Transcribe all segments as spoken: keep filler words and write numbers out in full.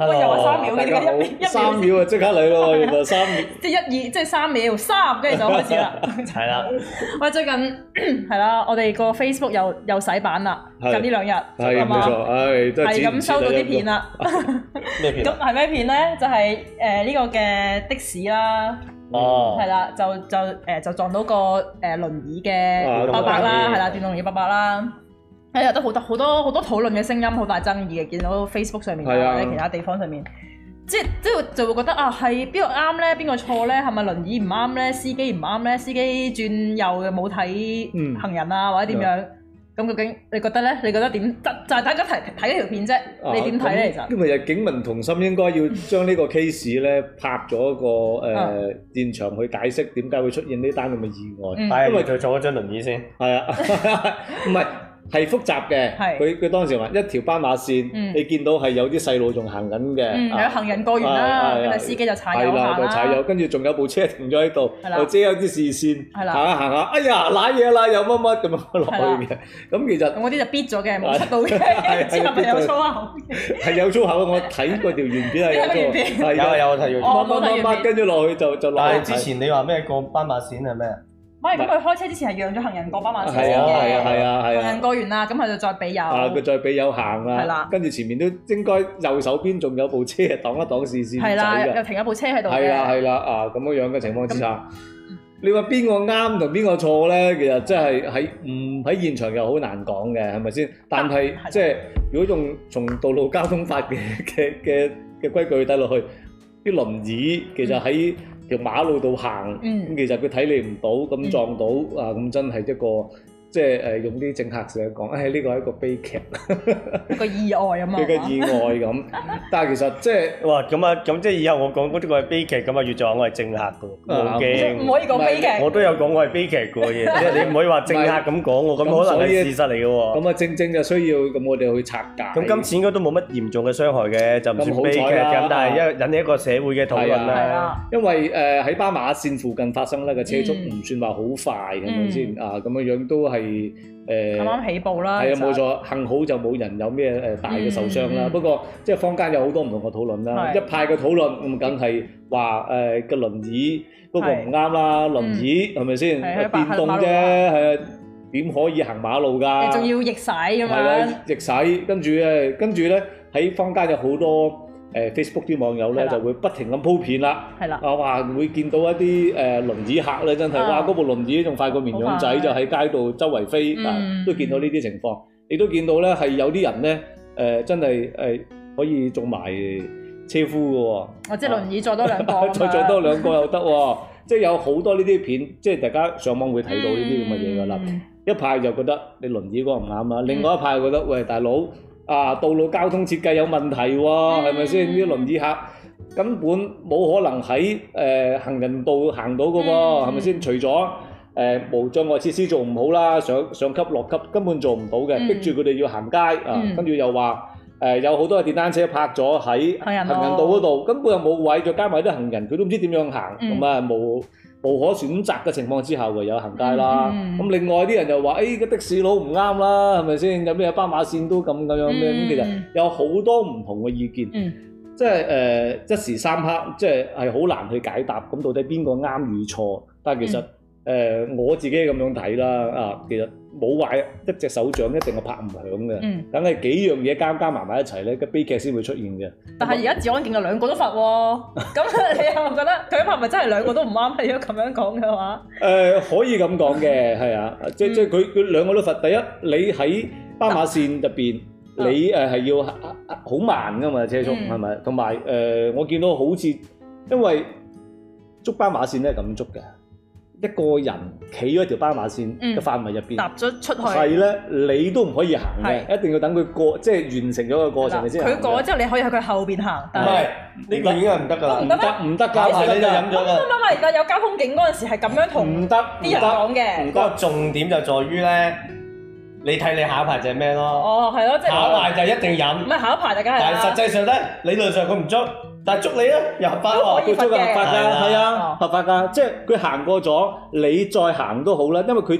我又話三秒嘅，點解一一三秒啊，即刻嚟咯！原來三秒， 即係一二，即係三秒，三跟住就開始啦。 係啦， 喂，最近係啦，我哋個 Facebook 又又洗版啦，近呢兩日係冇錯，唉，真係係咁收到啲片啦。 咩片？ 咁係咩片咧？就係誒呢個嘅的士啦。哦，係啦，就就誒就撞到個誒輪椅嘅伯伯啦，係啦，電動輪椅伯伯啦。係啊，都好多好多好多討論嘅聲音，好大爭議嘅。見到 Facebook 上面或者其他地方上面，即係即係就會覺得啊，係邊個啱咧？邊個錯咧？係咪輪椅唔啱咧？司機唔啱咧？司機轉右嘅冇睇行人啊，或者點樣？咁究竟你覺得咧？你覺得點？就就係大家睇睇呢條片啫，你點睇咧？其實因為警民同心，應該要將呢個 case 咧拍咗一個誒現場去解釋點解會出現呢單咁嘅意外。 因為佢坐咗張輪椅先。係啊， 唔係。係複雜嘅，佢佢當時話一條斑馬線，你見到係有啲細路仲行緊嘅， 有行人過完啦，跟住司機就踩油行啦， 踩油，跟住仲有部車停咗喺度，又遮有啲視線，行下行下，哎呀瀨嘢啦，又乜乜咁樣落去嘅，咁其實我啲就逼咗嘅，冇出到嘅，之後咪有粗口， 係有粗口，我睇過條原片係有粗口， 有有睇過， 乜乜乜跟住落去就就落去。 但係之前你話咩過斑馬線係咩？ 唔係，咁佢開車之前係讓咗行人過斑馬線嘅， 係啊係啊係啊係啊， 行人過完啦，咁佢就再俾油， 啊佢再俾油行啦，係啦，跟住前面都應該右手邊仲有部車擋一擋視線仔嘅，係啦， 又停一部車喺度嘅， 係啦係啦啊咁樣樣嘅情況之下，你話邊個啱同邊個錯咧？其實真係喺唔喺現場又好難講嘅，係咪先？但係即係如果用從道路交通法嘅嘅嘅嘅規矩睇落去，啲輪椅其實喺條馬路度行，咁、嗯、其實佢睇你唔到，咁撞到、嗯、啊，咁真係一個即係誒用啲政客成日講，誒呢個係一個悲劇， 一個意外啊嘛， 一個意外咁。但係其實即係哇咁啊，咁即係以後我講嗰啲個係悲劇咁啊，越就話我係政客噶，冇驚， 唔可以講悲劇。 我都有講我係悲劇嘅嘢，即係你唔可以話政客咁講喎，咁可能係事實嚟嘅喎。 咁啊，正正就需要咁我哋去拆解。 咁今次應該都冇乜嚴重嘅傷害嘅，就唔算悲劇咁，但係一引起一個社會嘅討論啦。 因為誒喺斑馬線附近發生咧，個車速唔算話好快，係咪先啊？咁樣樣都係。誒啱啱起步啦， 係啊冇錯，幸好就冇人有咩誒大嘅受傷啦。不過即係坊間有好多唔同嘅討論啦，一派嘅討論咁梗係話誒個輪椅嗰個唔啱啦，輪椅係咪先？電動啫，係啊，點可以行馬路㗎？ 你仲要逆駛咁樣？ 係啦，逆駛，跟住咧，跟住咧喺坊間有好多。誒 Facebook 啲網友咧就會不停咁鋪片啦，啊話會見到一啲誒輪椅客咧，真係哇嗰部輪椅仲快過綿羊仔，就喺街度周圍飛啊，都見到呢啲情況。亦都見到咧係有啲人咧誒真係誒可以做埋車夫嘅喎， 哦即係輪椅再多兩個， 再再多兩個又得喎，即係有好多呢啲片，即係大家上網會睇到呢啲咁嘅嘢㗎啦。一派就覺得你輪椅嗰個唔啱啦，另外一派覺得喂大佬。啊！道路交通設計有問題喎，係咪先？啲輪椅客根本冇可能喺誒、呃、行人道行到嘅喎，係咪先？除咗誒、呃、無障礙設施做唔好啦，上上級落級根本做唔到嘅，逼住佢哋要行街啊！跟住又話誒、呃、有好多嘅電單車泊咗喺行人道嗰度，根本又冇位，再加埋啲行人，佢都唔知點樣行，咁啊冇。無可選擇嘅情況之下，唯有行街啦。咁、嗯嗯、另外啲人又話，誒、哎、個的士佬唔啱啦，係咪先？有咩斑馬線都咁咁樣咩？咁、嗯、其實有好多唔同嘅意見，嗯、即係誒、呃、一時三刻，即係係好難去解答。咁到底邊個啱與錯？但係其實誒、嗯呃、我自己咁樣睇啦，啊，其實冇話一隻手掌一定係拍唔響嘅，梗係、嗯、幾樣嘢加加埋埋一齊咧，個悲劇先會出現嘅。 但係而家治安警嘅兩個都罰喎，咁你又覺得佢拍咪真係兩個都唔啱？如果咁樣講嘅話，誒、 呃、可以咁講嘅，係啊，即、嗯、即佢佢兩個都罰。第一，你喺斑馬線入邊，嗯、你誒係要好慢噶嘛車速，係咪、嗯？同埋誒，我見到好似因為捉斑馬線咧咁捉嘅。一個人企喺條斑馬線嘅範圍入邊，踏咗出去，係咧，你都唔可以行嘅，一定要等佢過，即係完成咗個過程你先行。 佢過咗之後，你可以喺佢後邊行。 唔係，呢個已經係唔得㗎啦， 唔得唔得㗎， 你就飲咗㗎。 唔唔唔，而家有交通警嗰陣時係咁樣同唔得啲人講嘅。 不過重點就在於咧，你睇你下一排就係咩咯？哦， 係咯，即係下一排就一定飲。 唔係下一排大家係。 但係實際上咧，理論上佢唔捉。但係捉你咧，又合法喎， 佢捉嘅合法㗎，係啊，合法㗎，即係佢行過咗，你再行都好啦，因為佢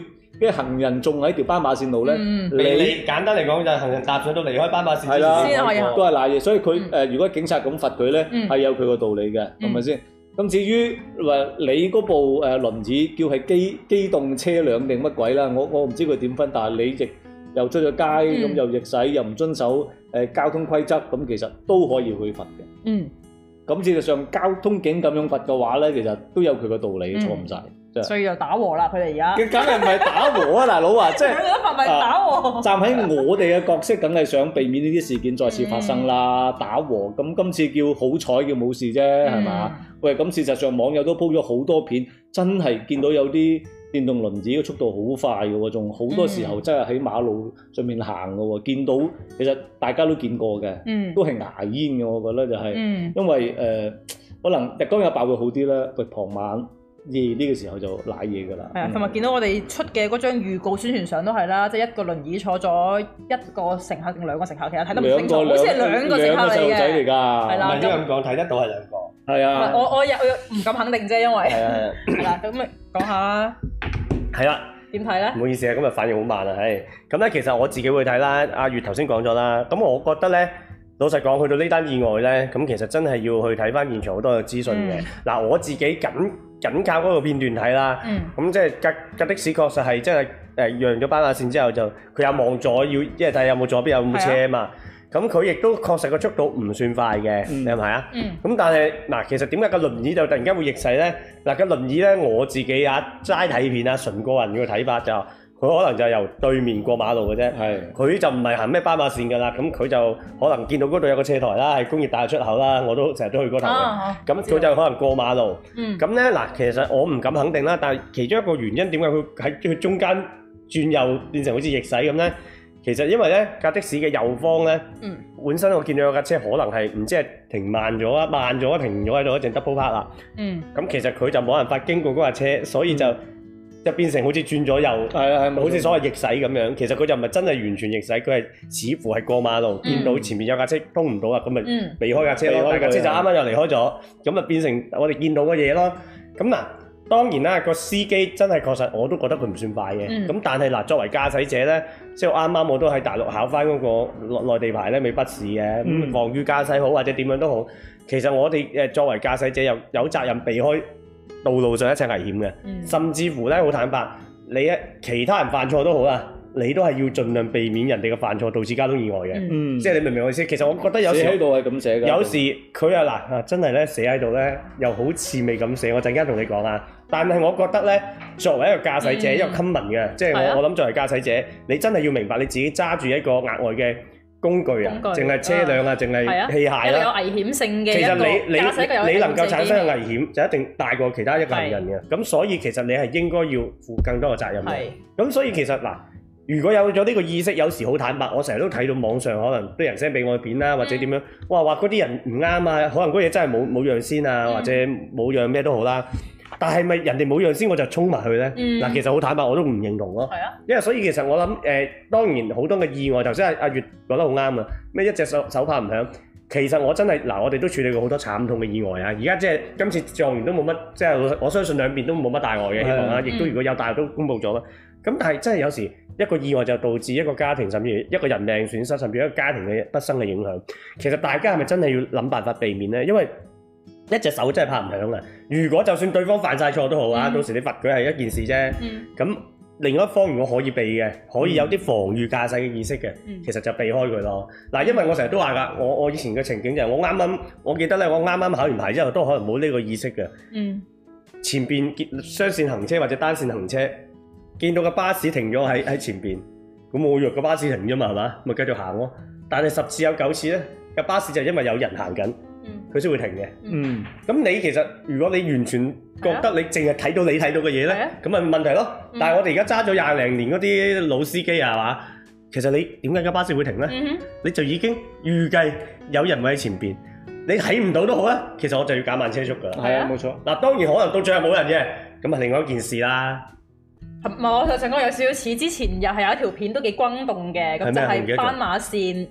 嘅行人仲喺條斑馬線度咧，你簡單嚟講就係行人踏上到離開斑馬線係啦，都係賴嘢。所以佢誒，如果警察咁罰佢咧，係有佢個道理嘅，係咪先？咁至於話你嗰部誒輪椅叫係機機動車輛定乜鬼啦？我我唔知佢點分，但係你亦又出咗街咁又逆駛又唔遵守誒交通規則，咁其實都可以去罰嘅。嗯。咁事實上交通警咁樣罰嘅話咧，其實都有佢個道理，錯唔晒。 所以就打和啦，佢哋而家。 佢梗係唔係打和啊，大佬啊，即係。 兩個都罰咪打和。 站喺我哋嘅角色，梗係想避免呢啲事件再次發生啦，打和。咁今次叫好彩叫冇事啫，係嘛？喂，咁事實上網友都鋪咗好多片，真係見到有啲電動輪椅嘅速度好快嘅喎，仲好多時候真係喺馬路上面行嘅喎，見到其實大家都見過嘅，嗯、都係牙煙嘅，我覺得就係、是，嗯、因為誒、呃、可能日光日白會好啲啦，喂傍晚夜呢個時候就瀨嘢㗎啦。係啊， 同埋見到我哋出嘅嗰張預告宣傳相都係啦，即係一個輪椅坐咗一個乘客定兩個乘客，其實睇得唔清楚，好似係兩個乘客嚟嘅。係啦， 唔係應該咁講，睇得到係兩個。 係啊， 我我又唔敢肯定啫，因為係啊係啦，咁咪講下啦。 係啦， 點睇咧？ 唔好意思啊，今日反應好慢啊，係咁咧。其實我自己會睇啦。阿月頭先講咗啦，咁我覺得咧，老實講，去到呢單意外咧，咁其實真係要去睇翻現場好多嘅資訊嘅。嗱、嗯，我自己緊緊靠嗰個片段睇啦。嗯。咁即係架架的士確實係真係誒讓咗斑馬線之後就佢有望左，要即係睇有冇左邊有冇車啊嘛。咁佢亦都確實個速度唔算快嘅，你係咪啊？咁、嗯、但係嗱，其實點解個輪椅就突然間會逆駛咧？嗱，個輪椅咧，我自己啊齋睇片啊，純個人嘅睇法就，佢可能就係由對面過馬路嘅啫。係，佢就唔係行咩斑馬線㗎啦。咁佢就可能見到嗰度有個斜台啦，係工業大廈出口啦，我都成日都去嗰頭嘅。咁佢、啊、就可能過馬路。咁咧嗱，其實我唔敢肯定啦，但係其中一個原因點解佢喺佢中間轉右變成好似逆駛咁咧？其實因為咧架的士嘅右方咧，嗯、本身我見到有架車可能係唔知係停慢咗啊，慢咗停咗喺度一陣 double park 啦。咁、嗯、其實佢就冇辦法經過嗰架車，所以就就、嗯、變成好似轉咗右，係啊係，好似所謂逆駛咁樣。其實佢就唔係真係完全逆駛，佢係似乎係過馬路，嗯、見到前面有架車通唔到啊，咁咪避開架車咯。架車就啱啱又離開咗，咁啊變成我哋見到嘅嘢咯。咁嗱。當然啦，個司機真係確實我都覺得佢唔算快嘅。咁、嗯、但係嗱，作為駕駛者咧，即係啱啱我都喺大陸考翻嗰個內地牌咧，未筆試嘅。咁防禦駕駛好或者點樣都好，其實我哋誒作為駕駛者有有責任避開道路上一切危險嘅。嗯、甚至乎咧，好坦白，你一其他人犯錯都好啦，你都係要盡量避免人哋嘅犯錯導致交通意外嘅。嗯、即係你明唔明我意思？其實我覺得有時喺度係咁寫嘅。有時佢啊嗱啊，真係咧寫喺度咧，又好似未咁寫。我陣間同你講啊。但係我覺得咧，作為一個駕駛者，嗯、一個 common 嘅，即係我、啊、我諗作為駕駛者，你真係要明白你自己揸住一個額外嘅工具啊，淨係車輛啊，淨係器械啦，有危險性嘅。 其實你你你能夠產生嘅危險，就一定大過其他一個行人嘅。咁是所以其實你係應該要負更多嘅責任嘅。咁是所以其實嗱，如果有咗呢個意識，有時好坦白，我成日都睇到網上可能啲人 send 俾我嘅片啦，或者點樣，哇話嗰啲人唔啱啊，可能嗰嘢真係冇冇樣先啊，嗯、或者冇樣咩都好啦。但係咪人哋冇樣先我就衝埋去咧？嗱、嗯，其實好坦白，我都唔認同咯。係啊，因為所以其實我諗誒、呃，當然好多嘅意外，頭先阿阿月講得好啱啊。咩一隻手手帕唔響，其實我真係嗱，我哋都處理過好多慘痛嘅意外啊。而家即係今次狀元都冇乜，即係我相信兩邊都冇乜大礙嘅希望啊。亦都如果有大礙都公佈咗啦。咁但係真係有時一個意外就導致一個家庭甚至一個人命損失，甚至一個家庭嘅不生嘅影響。其實大家係咪真係要諗辦法避免咧？因為一隻手真係拍唔響啊！如果就算對方犯晒錯都好啊，嗯、到時你罰佢係一件事啫。咁、嗯、另一方如果可以避嘅，可以有啲防禦駕駛嘅意識嘅，嗯、其實就避開佢咯。嗱，因為我成日都話㗎，我我以前嘅情景就係我啱啱，我記得咧，我啱啱考完牌之後都可能冇呢個意識嘅。嗯、前邊雙線行車或者單線行車，見到個巴士停咗喺喺前邊，咁我以為個巴士停咗嘛，係嘛？咪繼續行咯。但係十次有九次咧，個巴士就因為有人行緊。佢先會停嘅。嗯，咁你其實如果你完全覺得你淨係睇到你睇到嘅嘢咧，咁咪問題咯。嗯、但係我哋而家揸咗廿零年嗰啲老司機啊，係嘛？其實你點解架巴士會停咧？嗯、哼你就已經預計有人會喺前邊，你睇唔到都好啦。其實我就要減慢車速㗎啦。係啊，冇錯。嗱，當然可能到最後冇人嘅，咁啊另外一件事啦。 唔係，我頭先講有少少似之前又係有一條片都幾轟動嘅，咁就係斑馬線。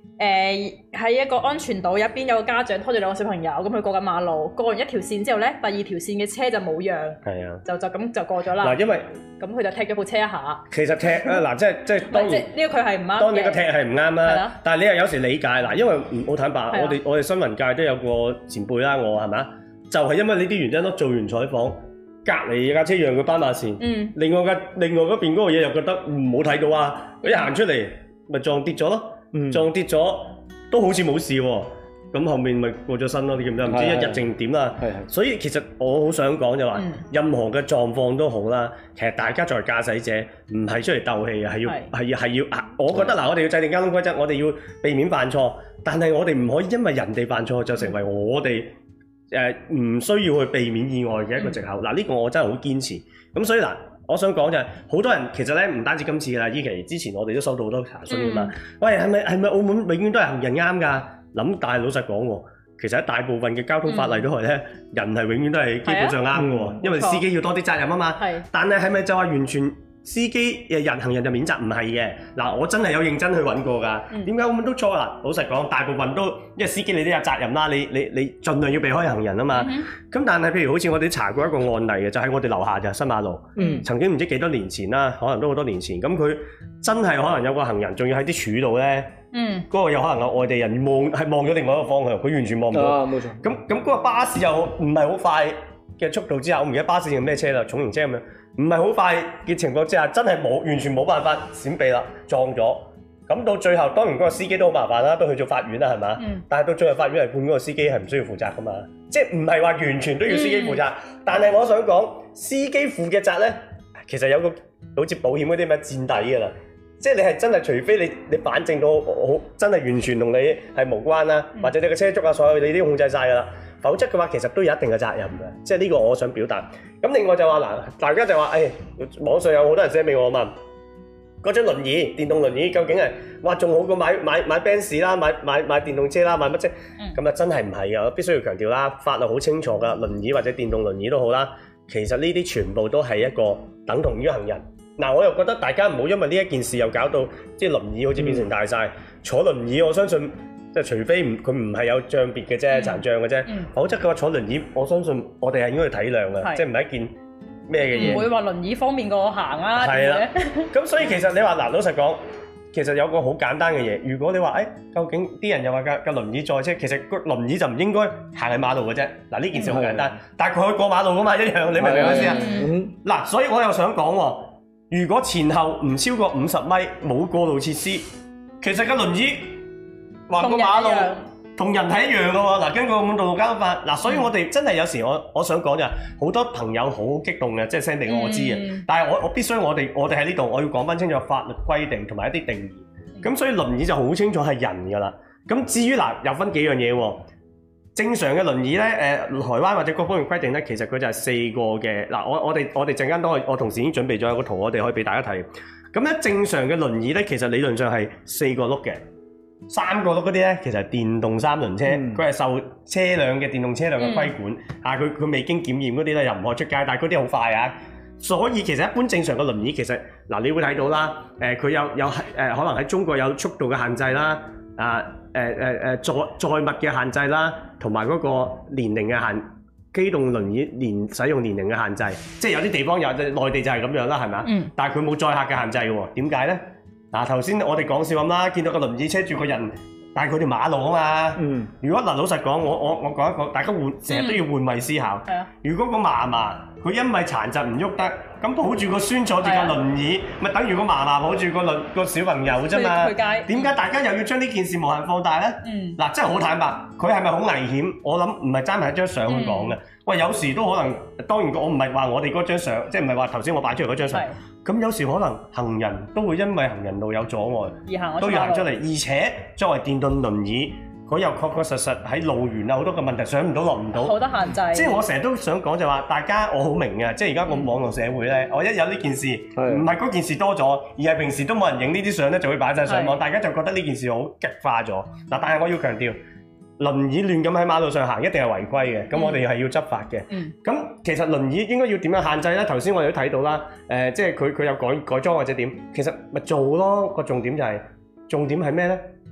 誒喺一個安全島入邊有個家長拖住兩個小朋友，咁佢過緊馬路，過完一條線之後咧，第二條線嘅車就冇讓，係啊，就就咁就過咗啦。嗱，因為咁佢就踢咗部車一下。其實踢啊嗱，即係即係當然呢個佢係唔啱。當然個踢係唔啱啦，但係你又有時理解嗱，因為好坦白，我哋我哋新聞界都有個前輩啦，我係咪？就係因為呢啲原因咯，做完採訪，隔離架車讓佢斑馬線，嗯，另外架另外嗰邊嗰個嘢又覺得唔好睇到啊，佢一行出嚟咪撞跌咗咯。嗯、撞跌咗都好似冇事喎，咁後面咪過咗身咯，你記唔記得？唔知一日定點啦。所以其實我好想講就話，嗯、任何嘅狀況都好啦，其實大家作為駕駛者唔係出嚟鬥氣嘅，係要係要係要。我覺得嗱，我哋要制定交通規則，我哋要避免犯錯，但係我哋唔可以因為人哋犯錯就成為我哋誒唔需要去避免意外嘅一個藉口。嗱呢、嗯呢個我真係好堅持。咁所以嗱。我想講就係，好多人其實咧唔單止今次啦，依期之前我哋都收到好多查詢㗎嘛。嗯、喂，係咪係咪澳門永遠都係行人啱㗎？諗但係老實講喎，其實喺大部分嘅交通法例都係咧，嗯、人係永遠都係基本上啱嘅喎，嗯、因為司機要多啲責任啊嘛。係。但係係咪就話完全司機誒人行人就免責？唔係嘅。嗱，我真係有認真去揾過㗎。點解澳門都錯啦？老實講，大部分都因為司機你都有責任啦，你你你盡量要避開行人啊嘛。咁、嗯、但係譬如好似我哋查過一個案例嘅，就喺、是、我哋樓下就新馬路。嗯。曾經唔知幾多年前啦，可能都好多年前。咁佢真係可能有個行人，仲要喺啲柱度咧。嗯。嗰個有可能有外地人望係望咗另外一個方向，佢完全望唔到。啊，冇錯。咁咁嗰個巴士又唔係好快嘅速度之下，我唔記得巴士係咩車啦，重型車咁樣。唔係好快嘅情況之下，真係冇完全冇辦法閃避啦，撞咗。咁到最後，當然嗰個司機都好麻煩啦，都去咗法院啦，係嘛？嗯、但係到最後法院係判嗰個司機係唔需要負責噶嘛，即係唔係話完全都要司機負責。嗯、但係我想講，司機負嘅責咧，其實有個好似保險嗰啲咩墊底㗎啦。即係你係真係，除非你你反證到好真係完全同你係無關啦，嗯、或者你個車速啊，所有你都控制晒㗎啦。否則嘅話，其實都有一定嘅責任嘅，即係呢個我想表達。咁另外就話嗱，大家就話，誒、哎，網上有好多人寫俾我問，嗰張輪椅、電動輪椅究竟係，哇，仲好過買買買 Benz 啦，買買買電動車啦，買乜啫？咁啊、嗯、真係唔係嘅，我必須要強調啦，法律好清楚㗎，輪椅或者電動輪椅都好啦，其實呢啲全部都係一個等同於行人。嗱，我又覺得大家唔好因為呢一件事又搞到即係輪椅好似變成大晒。嗯、坐輪椅，我相信。即係除非唔佢唔係有障別嘅啫，殘障嘅啫，嗯、否則嘅話坐輪椅，我相信我哋係應該去體諒嘅，是即係唔係一件咩嘅嘢。唔會話輪椅方便過行啊。係啦，咁所以其實你話嗱，老實講，其實有個好簡單嘅嘢，如果你話誒、哎，究竟啲人又話架架輪椅載車，其實個輪椅就唔應該行喺馬路嘅啫。嗱，呢件事好簡單，嗯、但係佢可以過馬路㗎嘛，一樣，你明唔明我意思啊？嗱，所以我又想講喎，如果前後唔超過五十米冇過路設施，其實架輪椅。話個馬路同人係一樣嘅喎，嗱，根據澳門道路交通法，嗱，所以我哋真係有時我我想講就係好多朋友好激動嘅，即係 send 俾我知嘅，嗯、但係我我必須我哋我哋喺呢度我要講翻清楚法律規定同埋一啲定義，咁、嗯、所以輪椅就好清楚係人㗎啦。咁至於嗱又分幾樣嘢喎，正常嘅輪椅咧，誒、呃、台灣或者各方面規定咧，其實佢就係四個嘅，嗱，我我哋我哋陣間都可以，我同事已經準備咗有個圖，我哋可以俾大家睇。咁咧正常嘅輪椅咧，其實理論上係四個轆嘅。三個轆嗰啲咧，其實係電動三輪車，佢係、嗯、受車輛嘅電動車輛嘅規管，嗯、啊，佢佢未經檢驗嗰啲咧又唔可以出街，但係嗰啲好快啊，所以其實一般正常嘅輪椅其實嗱，你會睇到啦，誒、呃、佢有有誒、呃、可能喺中國有速度嘅限制啦，啊誒誒誒載載物嘅限制啦，同埋嗰個年齡嘅限，機動輪椅年使用年齡嘅限制，即係有啲地方有，內地就係咁樣啦，係咪啊？嗯、但係佢冇載客嘅限制嘅喎，點解咧？嗱，頭先我哋講笑咁啦，見到個輪椅車住個人，但係佢條馬路啊嘛。嗯。如果嗱，老實講，我我我講一個，大家換成日都要換位思考。係啊、嗯。如果個嫲嫲佢因為殘疾唔喐得，咁抱住個孫坐住架輪椅，咪、嗯、等於個嫲嫲抱住個輪個小朋友啫嘛。去街。點解大家又要將呢件事無限放大咧？嗯。嗱，真係好坦白，佢係咪好危險？我諗唔係爭埋一張相去講嘅。嗯、喂，有時都可能，當然我唔係話我哋嗰張相，即係唔係話頭先我擺出嚟嗰張相。咁有時可能行人都會因為行人路有阻礙，而行都要行出嚟，而且作為電動輪椅，佢又確確實實喺路緣啊好多個問題，上唔到落唔到，好多限制。即係我成日都想講就話，大家我好明嘅，即係而家個網絡社會咧，我一有呢件事，唔係嗰件事多咗，而係平時都冇人影呢啲相咧，就會擺晒上網，大家就覺得呢件事好激化咗。嗱，但係我要強調。輪椅亂咁喺馬路上行，一定係違規嘅。咁、嗯、我哋係要執法嘅。咁、嗯、其實輪椅應該要點樣限制呢？頭先我哋都睇到啦。誒、呃，即係佢佢有改改裝或者點，其實咪做咯。個重點就係、是、重點係咩呢？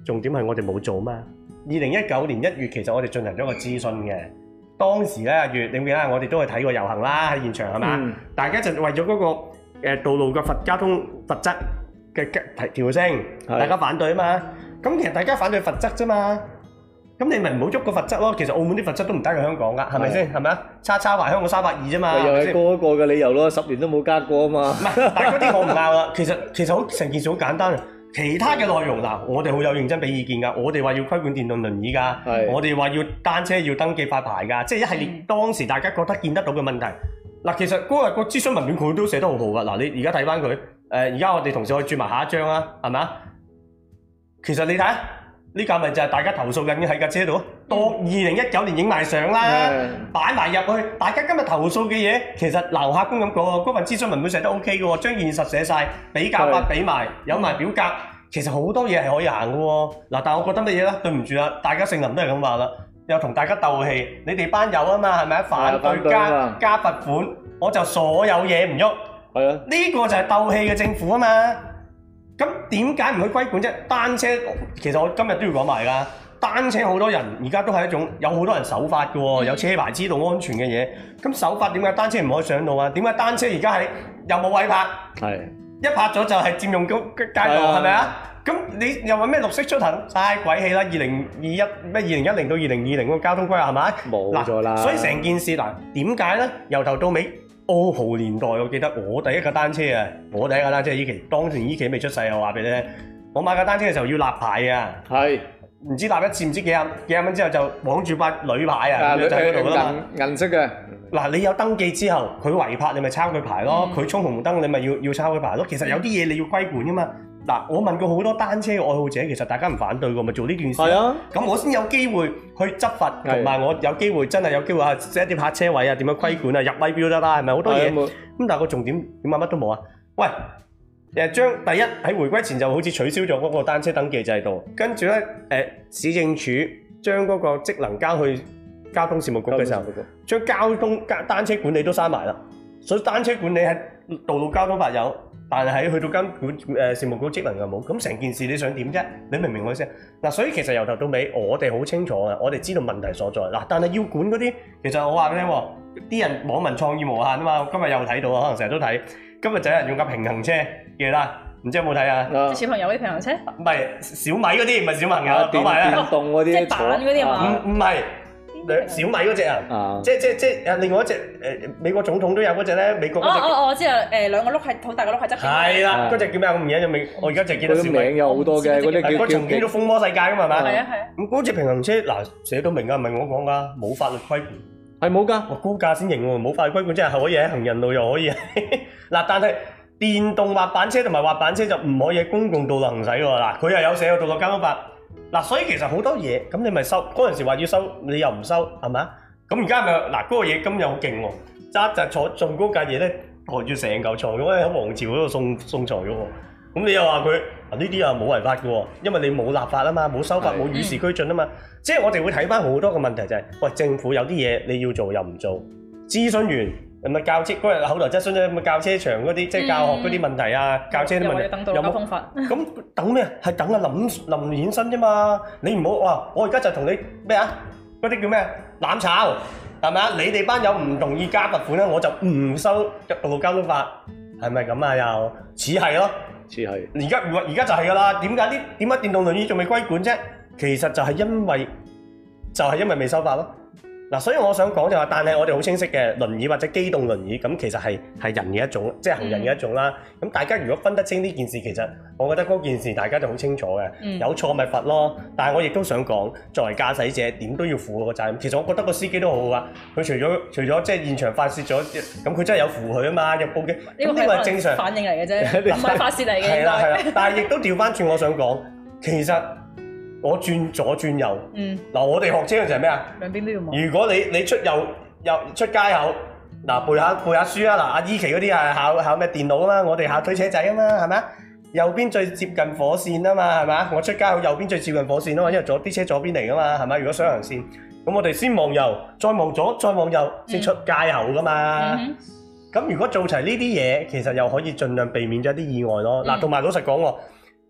重點係我哋冇做嘛。二零一九年一月其實我哋進行咗個諮詢嘅，當時咧阿月，你記得我哋都係睇過遊行啦，喺現場係嘛？嗯、大家就為咗嗰個誒道路嘅罰交通罰則嘅提調升，大家反對啊嘛。咁其實大家反對罰則啫嘛。咁你咪唔好喐個罰則咯。其實澳門啲罰則都唔低過香港噶，係咪先？係咪啊？差差話香港三百二啫嘛。 又係過一個嘅理由咯，十年都冇加過啊嘛。 唔係，但係嗰啲我唔拗啦。其實其實好成件事好簡單啊。其他嘅內容嗱，我哋好有認真俾意見㗎。我哋話要規管電動輪椅㗎，是我哋話要單車要登記發牌㗎，即係一系列當時大家覺得見得到嘅問題。嗱，其實嗰日個諮詢文件佢都寫得好好㗎。嗱，你而家睇翻佢，誒而家我哋同事可以轉埋下一張啊，係咪啊？其實你睇下，呢架咪就係大家投訴緊喺架車度，到二零一九年影埋相啦，擺埋入去。大家今日投訴嘅嘢，其實劉客官咁講，嗰份諮詢文本寫得 O K 嘅喎，將現實寫晒，比較法俾埋，有埋表格。其實好多嘢係可以行嘅喎，嗱，但係我覺得乜嘢咧？對唔住啦，大家姓林都係咁話啦，又同大家鬥氣，你哋班友啊嘛，係咪啊？反對加加罰款，我就所有嘢唔喐。係啊，呢個就係鬥氣嘅政府啊嘛。咁點解唔去規管啫？單車其實我今日都要講埋㗎，單車好多人而家都係一種有好多人守法嘅喎，有車牌知道安全嘅嘢。咁守法點解單車唔可以上路啊？點解單車而家係又冇位泊？係。一拍咗就係佔用街道，係咪啊？咁你又話咩綠色出行？嘥鬼氣啦！二零二一咩二零一零到二零二零嗰個交通規劃係咪？冇咗啦。所以成件事嗱，點解咧？由頭到尾，澳豪年代我記得我第一架單車啊，我第一架單車依期，當年依期未出世啊，我話俾你聽，我買架單車嘅時候要立牌啊，係唔知立一次唔知幾廿幾廿蚊之後就綁住塊鋁牌啊，就喺嗰度啦嘛，銀色嘅。嗱，你有登記之後，佢違泊你咪抄佢牌咯，佢衝紅燈你咪要要抄佢牌咯。其實有啲嘢你要規管噶嘛。嗱，我問過好多單車嘅愛好者，其實大家唔反對嘅，咪做呢件事。係啊，咁我先有機會去執法，同埋我有機會真係有機會啊，set 啲泊車位啊，點樣規管啊，入位標得啦，係咪好多嘢？咁但係個重點點解乜都冇啊？喂，誒將第一喺回歸前就好似取消咗嗰個單車登記制度，跟住咧誒市政署將嗰個職能交去交通事務局嘅時候，將交通單車管理都刪埋啦。所以單車管理喺道路交通法有，但係喺去到監管誒事務局職能又冇。咁成件事你想點啫？你明唔明我意思？嗱，所以其實由頭到尾我哋好清楚嘅，我哋知道問題所在。嗱，但係要管嗰啲，其實我話俾你聽，啲人網民創意無限啊嘛。我今日又睇到啊，可能成日都睇。今日就有人用架平衡車嘅啦，唔知有冇睇啊？ 小朋友嗰啲平衡車？ 唔係小米嗰啲，唔係小朋友。講埋啦， 電動嗰啲， 即係板嗰啲係嘛？ 唔唔係。小米嗰隻啊，即即即誒另外一隻誒美國總統都有嗰隻咧，美國嗰隻。哦哦，我知啦，誒兩個轆係好大個轆係側邊。係啦，嗰隻叫咩啊？我唔記得咗名，我而家淨係記得小米。個名有好多嘅，嗰啲叫叫。曾經都風魔世界㗎嘛，係嘛？係啊係啊。咁嗰隻平衡車嗱寫到明㗎，唔係我講㗎，冇法律規管，係冇㗎。我高價先認喎，冇法律規管即係可以喺行人路又可以。嗱，但係電動滑板車同埋滑板車就唔可以喺公共道路行駛喎。嗱，佢又有寫個道路交通法。嗱，所以其實好多嘢，咁你咪收嗰陣時話要收，你又唔收，係咪啊？咁而家咪嗱嗰個嘢今日好勁喎，揸就坐仲高架嘢咧，抬住成嚿床咁喺皇朝嗰度送送財嘅喎。咁你又話佢啊呢啲又冇違法嘅喎，因為你冇立法啊嘛，冇修法，冇與時俱進啊嘛。即係我哋會睇翻好多個問題就係，喂政府有啲嘢你要做又唔做，諮詢完咁啊教車嗰日口頭質詢咧，咁啊教車場嗰啲即係教學嗰啲問題啊，教車啲問題有冇？咁等咩？係等阿林林衍生啫嘛！你唔好話我而家就同你咩啊？嗰啲叫咩？攬炒係咪啊？你哋班友唔同意加罰款咧，我就唔收道路交通法，係咪咁啊？又似係咯，似係。而家而家就係㗎啦。點解啲點解電動輪椅仲未規管啫？其實就係因為就係因為未修法咯。嗱，所以我想講就話，但係我哋好清晰嘅輪椅或者機動輪椅，咁其實係係人嘅一種，即係行人嘅一種啦。咁、嗯、大家如果分得清呢件事，其實我覺得嗰件事大家就好清楚嘅。嗯、有錯咪罰咯。但係我亦都想講，作為駕駛者點都要負個責任。其實我覺得個司機都好好噶，佢除咗除咗即係現場發泄咗，咁佢真係有扶佢啊嘛，有報警。呢個係正常反應嚟嘅啫，唔係發泄嚟嘅。係啦係啦，但係亦都調翻轉，我想講，其實。我轉左轉右，嗱、嗯、我哋學車嘅就係咩啊？兩邊都要望。如果你你出右右出街口，嗱背下背下書啊，嗱阿依琪嗰啲係考考咩電腦啊嘛，我哋考推車仔啊嘛，係咪啊？右邊最接近火線啊嘛，係咪啊？我出街口右邊最接近火線啊嘛，因為左啲車左邊嚟噶嘛，係咪？如果雙行線，咁我哋先望右，再望左，再望右，先出街口噶嘛。咁、嗯嗯、如果做齊呢啲嘢，其實又可以盡量避免咗一啲意外咯。嗱、嗯，同埋老實講喎。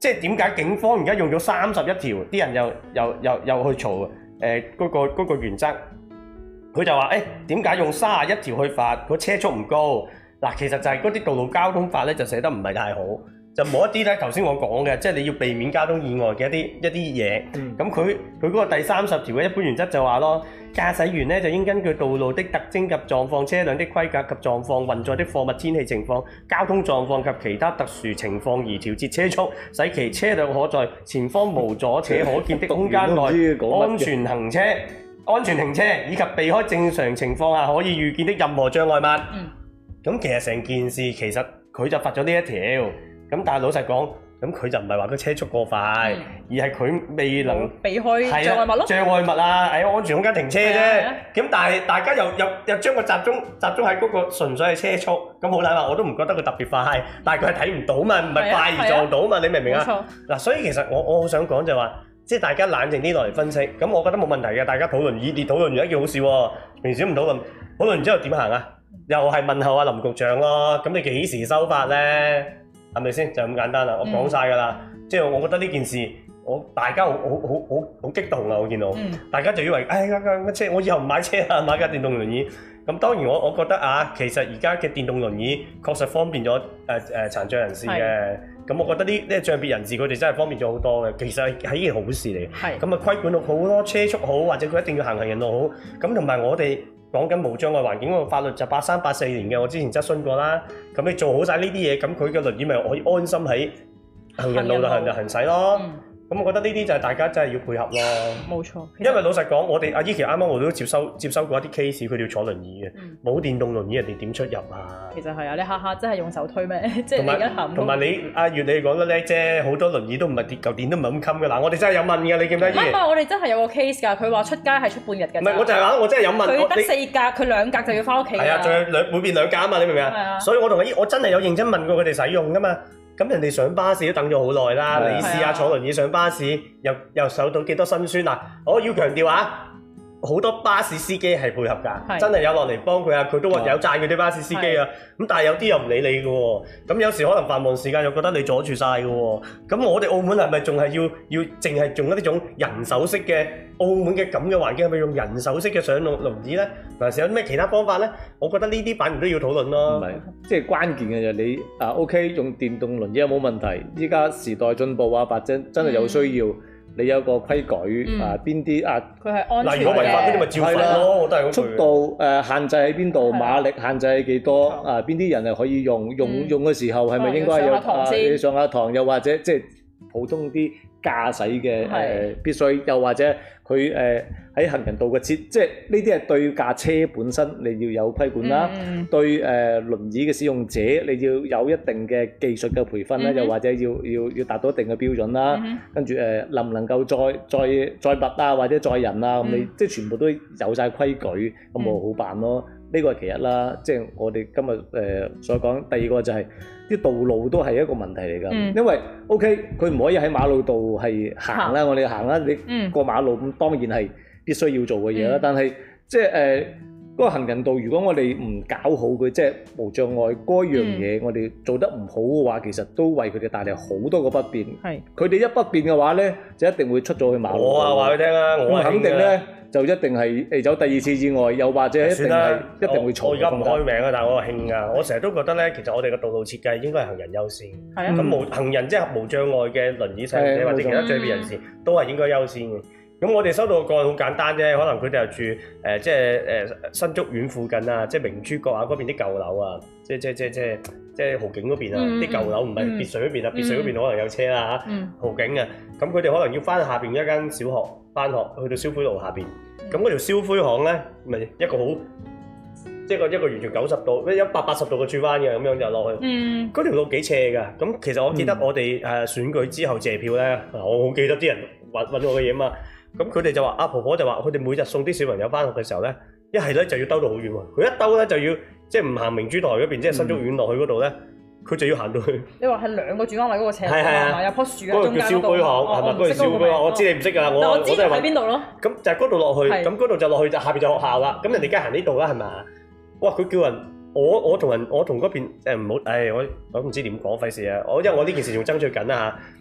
即係點解警方而家用咗三十一條，啲人又又又又去嘈誒嗰個嗰個原則？佢就話誒點解用三十一條去罰？個車速唔高嗱，其實就係嗰啲道路交通法咧就寫得唔係太好。就冇一啲咧，頭先我講嘅，即係你要避免交通意外嘅一啲一啲嘢。咁佢佢嗰個第三十條嘅一般原則就話咯，駕駛員咧就應根據道路的特徵及狀況、車輛的規格及狀況、運載的貨物、天氣情況、交通狀況及其他特殊情況而調節車速，使其車輛可在前方無阻且可見的空間內安全行車、安全停車，以及避開正常情況下可以預見的任何障礙物。咁、嗯、其實成件事其實佢就罰咗呢一條。咁但係老實講，咁佢就唔係話個車速過快，嗯、而係佢未能避開障礙物咯。 障礙物啊，喺安全空間停車啫。咁但係大家又又又將個集中集中喺嗰個純粹係車速，咁好難話，我都唔覺得佢特別快，但係佢係睇唔到嘛，唔係快而撞到嘛，你明唔明啊？嗱，所以其實我我好想講就係話，即係大家冷靜啲落嚟分析，咁我覺得冇問題嘅，大家討論熱烈討論完一件好事喎。平時唔討論，討論完之後點行啊？又係問候阿林局長咯，咁你幾時收法咧？係咪先？就咁簡單啦，我講晒㗎啦。嗯、即係我覺得呢件事，我大家好好好好好激動啊！我見到，嗯、大家就以為，哎呀架車，我以後唔買車啦，買架電動輪椅。咁當然我我覺得啊，其實而家嘅電動輪椅確實方便咗誒誒殘障人士嘅。咁是我覺得呢呢障別人士佢哋真係方便咗好多嘅。其實係一件好事嚟。係咁啊，規管到好多車速好，或者佢一定要行行人路好。咁同埋我哋。講緊無障礙環境嗰個法律就八三八四年嘅，我之前質詢過啦。咁你做好晒呢啲嘢，咁佢嘅輪椅咪可以安心喺行人路度行就行駛咯。咁、嗯、我覺得呢啲就係大家真係要配合咯。冇錯，因為老實講，我哋阿依琪啱啱我都接收接收過一啲 case，佢哋要坐輪椅嘅，冇、嗯、電動輪椅人哋點出入啊？其實係啊，你下下真係用手推咩？即係你而家行。同埋你阿月你講得叻啫，好多輪椅都唔係跌嚿電都唔係咁襟嘅。嗱，我哋真係有問嘅，你記唔記得？唔係，我哋真係有個 case 㗎。佢話出街係出半日嘅。唔係，我就係話我真係有問。佢得四格，佢你兩格就要翻屋企。係啊，仲有兩每邊兩格啊嘛，你明唔明啊？係啊。所以我同阿姨，我真係有認真問過佢哋使用㗎嘛。咁人哋上巴士都等咗好耐啦，你試下坐輪椅上巴士，又又受到幾多辛酸啊！我要強調啊，好多巴士司機係配合㗎，真係有落嚟幫佢啊，佢都話有讚佢啲巴士司機啊。咁但係有啲又唔理你嘅喎，咁有時可能繁忙時間又覺得你阻住晒嘅喎。咁我哋澳門係咪仲係要要淨係用一啲種人手式嘅澳門嘅咁嘅環境，係咪用人手式嘅上路輪椅咧？還是有啲咩其他方法咧？我覺得呢啲反而都要討論咯。唔係，即係關鍵嘅就你啊 OK 用電動輪椅有冇問題？依家時代進步啊，或者真係有需要。嗯你有個規矩、嗯、啊？邊啲啊？佢係安全嘅。嗱，如果違法嗰啲咪照罰咯，我都係嗰句。速度誒、呃、限制喺邊度？的馬力限制係幾多？的啊，邊啲人係可以用？用、嗯、用嘅時候係咪應該有啊？你上下堂又或者即係普通啲駕駛嘅誒的、呃、必須，又或者佢誒喺行人道嘅設，即係呢啲係對架車本身你要有規管啦。嗯、對誒、呃、輪椅嘅使用者，你要有一定嘅技術嘅培訓啦，嗯、又或者要要要達到一定嘅標準啦。嗯、跟住誒、呃、能唔能夠載載載物啊，或者載人啊，咁、嗯、你即係全部都有晒規矩，咁咪好辦咯。呢個係其一啦，即係我哋今日誒、呃、所講。第二個就係、是、啲道路都係一個問題嚟㗎，嗯、因為 OK 佢唔可以喺馬路度係行啦，我哋行啦，你過馬路咁當然係必須要做嘅嘢啦。嗯、但係即係誒嗰個行人道，如果我哋唔搞好佢，即係無障礙嗰樣嘢，嗯、我哋做得唔好嘅話，其實都為佢哋帶嚟好多個不便。係佢哋一不便嘅話咧，就一定會出咗去馬路。我啊話佢聽啦，我肯定咧。就一定係誒走第二次意外，又或者一定係一定會錯。我而家唔開名啊，但係我興啊！我成日都覺得咧，其實我哋嘅道路設計應該係行人優先。係啊。咁無行人即係無障礙嘅輪椅使用者或者其他障別人士都係應該優先嘅。咁我哋收到嘅個案好簡單啫，可能佢哋又住誒即係誒新竹苑附近啊，即係明珠角啊嗰邊啲舊樓啊，即係即係即係即係即係豪景嗰邊啊，啲舊樓唔係別墅嗰邊啊，別墅嗰邊可能有車啦嚇。豪景啊，咁佢哋可能要翻下邊一間小學翻學，去到消灰路下邊。咁嗰條燒灰巷咧，咪一個好，即係個一個完全九十度，一百八十度嘅轉彎嘅，咁樣就落去。嗯。嗰條路幾斜㗎，咁其實我記得我哋誒選舉之後謝票咧，我好記得啲人揾揾我嘅嘢啊嘛。咁佢哋就話，阿婆婆就話，佢哋每日送啲小朋友翻學嘅時候咧，一係咧就要兜到好遠喎，佢一兜咧就要即係唔行明珠台嗰邊，即係新竹苑落去嗰度咧。佢就要行到去。你話係兩個轉彎位嗰個斜路，有棵樹喺中間嗰度。嗰個叫燒灰巷，係咪？嗰個燒灰巷，我知你唔識㗎，我我都係喺邊度咯。咁就係嗰度落去，咁嗰度就落去就下邊就學校啦。咁人哋而家行呢度啦，係咪？哇！佢叫人，我我同人，我同嗰邊誒唔好，誒我我唔知點講，費事啊！我因為我呢件事仲爭取緊啦嚇。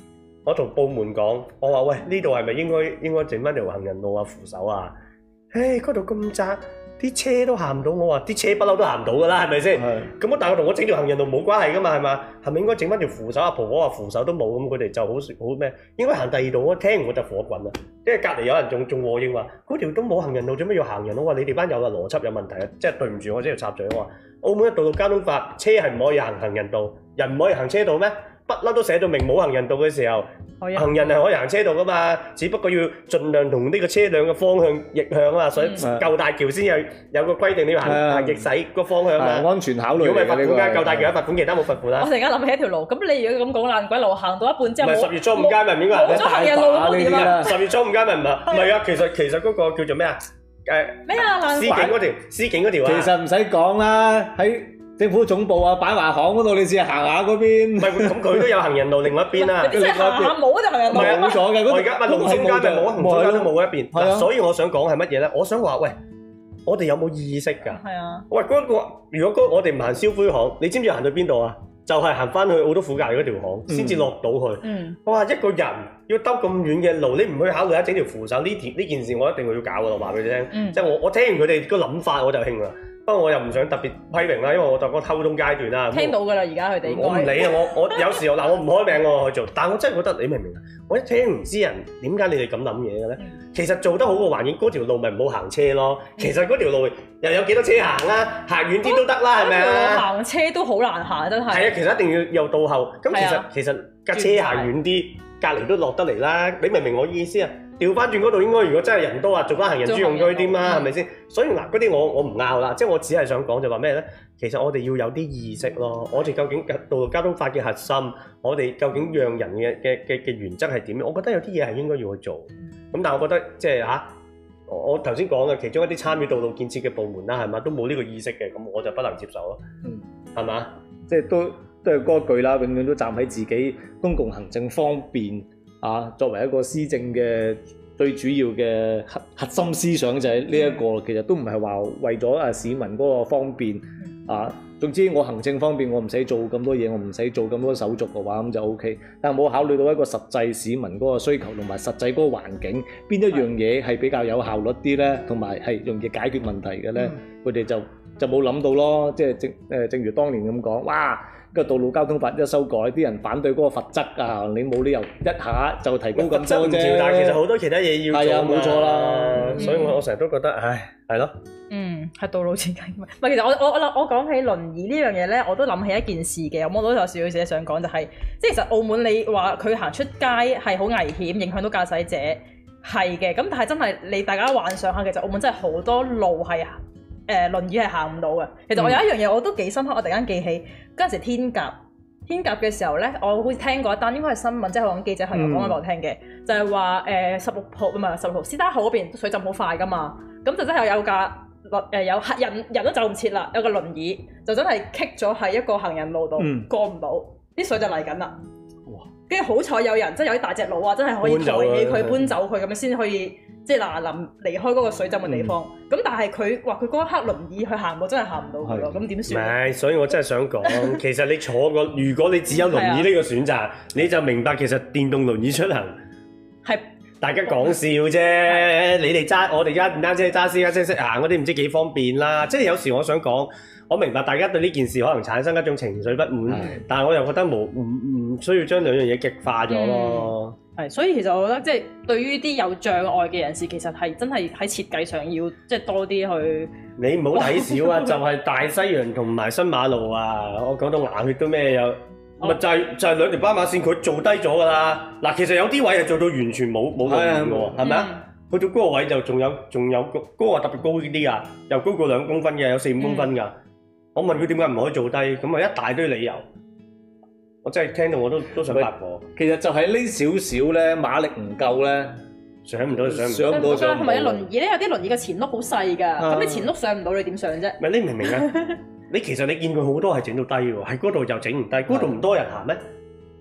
我同部門講，我話喂，呢度係咪應該應該整翻條行人路啊扶手啊？誒，嗰度咁窄，啲車都行唔到。我話啲車不嬲都行唔到㗎啦，係咪先？咁我但係同我整條行人路冇關係㗎嘛，係嘛？係咪應該整翻條扶手？阿婆婆話扶手都冇，咁佢哋就好好咩？應該行第二度。我聽完我就火滾啦，因為隔離有人仲仲和應話，嗰條都冇行人路，做咩要行人路？我話你哋班友嘅邏輯有問題啊！即係對唔住，我即係插嘴。我話澳門嘅道路交通法，車係唔可以行行人道，人唔可以行車道咩？不嬲都寫到明冇行人道嘅時候，行人係可以行車道噶嘛，只不過要盡量同呢個車輛嘅方向逆向啊嘛，所以舊大橋先有有個規定你要行行逆駛個方向啊，安全考慮。如果唔係罰款㗎，舊大橋有罰款，其他冇罰款啦。我突然間諗起一條路，咁你如果咁講爛鬼路行到一半之後，唔係十月初五街咪唔應該行咗行人路咯？點啊？十月初五街咪唔係？唔係啊，其實其實嗰個叫做咩啊？誒咩啊？爛司警嗰條，司警嗰條啊。其實唔使講啦，喺政府總部啊，擺華行嗰度，你試下行下嗰邊。唔係，咁佢都有行人路另外一邊啦。即係行下冇就行人路。冇咗嘅，我而家咪龍中街咪冇啊，龍中街都冇一邊。係啊。所以我想講係乜嘢咧？我想話喂，我哋有冇意識㗎？係啊。喂，嗰個如果我哋唔行燒灰巷，你知唔知行到邊度啊？就係行翻去澳督府隔離嗰條巷，先至落到去。嗯。哇！一個人要兜咁遠嘅路，你唔去考慮下整條扶手呢條呢件事，我一定會要搞㗎。我話俾你聽。嗯。即係我我聽完佢哋個諗法，我就興啦。不過我又唔想特別批評啦，因為我就講溝通階段啦。聽到㗎啦，而家佢哋。我唔理啊，我我有時候嗱，我唔開名我去做，但係我真係覺得你明唔明啊？我一聽唔知人點解你哋咁諗嘢嘅咧？其實做得好個環境，嗰條路咪唔好行車咯。其實嗰條路又有幾多車行啊？行遠啲都得啦，係咪啊？行車都好難行，真係。係啊，其實一定要有倒後。咁其實其實架車行遠啲，隔離都落得嚟啦。你明唔明我意思啊？調翻轉嗰度應該，如果真係人多啊，做翻行人專用區添啦，係咪先？所以嗱，嗰啲我我唔拗啦，即係我只係想講就話咩咧？其實我哋要有啲意識咯。我哋究竟道路交通法嘅核心，我哋究竟讓人嘅嘅嘅嘅原則係點？我覺得有啲嘢係應該要去做。咁但係我覺得即係嚇，我頭先講嘅其中一啲參與道路建設嘅部門啦，係嘛，都冇呢個意識嘅，咁我就不能接受咯。嗯，係嘛？即係都都係嗰句啦，永遠都站喺自己公共行政方便。啊，作為一個施政嘅最主要嘅核核心思想就係呢一個，其實都唔係話為咗啊市民嗰個方便啊。總之我行政方面我唔使做咁多嘢，我唔使做咁多手續嘅話，咁就 O K。但係冇考慮到一個實際市民嗰個需求同埋實際嗰個環境，邊一樣嘢係比較有效率啲咧，同埋係容易解決問題嘅咧，佢哋就就冇諗到咯。即係正誒，正如當年咁講，哇！個道路交通法一修改，啲人反對嗰個罰則啊，你冇理由一下就提高咁多啫。但係其實好多其他嘢要做。係啊，冇錯啦。所以我我成日都覺得，唉，係咯。嗯，係道路設計。唔係，其實我我我我講起輪椅呢樣嘢咧，我都諗起一件事嘅。我都有少少嘢想講，就係即係其實澳門你話佢行出街係好危險，影響到駕駛者係嘅。咁但係真係你大家幻想下，其實澳門真係好多路係。誒、呃、輪椅係行唔到嘅。其實我有一樣嘢我都幾深刻，我突然間記起嗰陣時天鴿天鴿嘅時候咧，我好似聽過一單，應該係新聞，即係香港記者係講俾我聽嘅，嗯、就係話誒十六號唔係十六號，司打口嗰邊水浸好快噶嘛，咁就真係有架誒、呃、有客人人都走唔切啦，有個輪椅就真係棘咗喺一個行人路度、嗯、過唔到，啲水就嚟緊啦。哇！跟住好彩有人，即係有啲大隻佬啊，真係可以抬起佢搬走佢，咁樣先可以。即係嗱臨離開嗰個水浸嘅地方，咁、嗯、但係佢話佢嗰一刻輪椅佢行到真係行唔到佢咯，咁點算？唔係，所以我真係想講，其實你坐個，如果你只有輪椅呢個選擇，你就明白其實電動輪椅出行係大家講笑啫。的你哋揸我哋而家唔單止揸私家車識行嗰啲，唔知幾方便啦。即係有時我想講，我明白大家對呢件事可能產生一種情緒不滿，的但係我又覺得冇唔唔需要將兩樣嘢極化咗咯。係，所以其實我覺得即係對於啲有障礙嘅人士，其實係真係喺設計上要即係多啲去。你唔好睇少啊！就係大西洋同埋新馬路啊！我講到牙血都咩有，咪、哦、就係、是、就係、是、兩條斑馬線，佢做低咗㗎啦。嗱，其實有啲位係做到完全冇冇輪椅嘅喎，係咪啊？去到嗰個位就仲有仲有高嗰個特別高啲㗎，又高過兩公分嘅，有四五公分㗎。嗯、我問佢點解唔可以做低，咁啊一大堆理由。我真係聽到我都都想發火。其實就係呢少少咧，馬力唔夠咧，上唔到上唔到。上唔到上唔到。同埋輪椅咧，有啲輪椅嘅前轆好細㗎，咁、啊、你前轆上唔到，你點上啫？唔係你明唔明啊？你其實你見佢好多係整到低喎，喺嗰度又整唔低，嗰度唔多人行咩？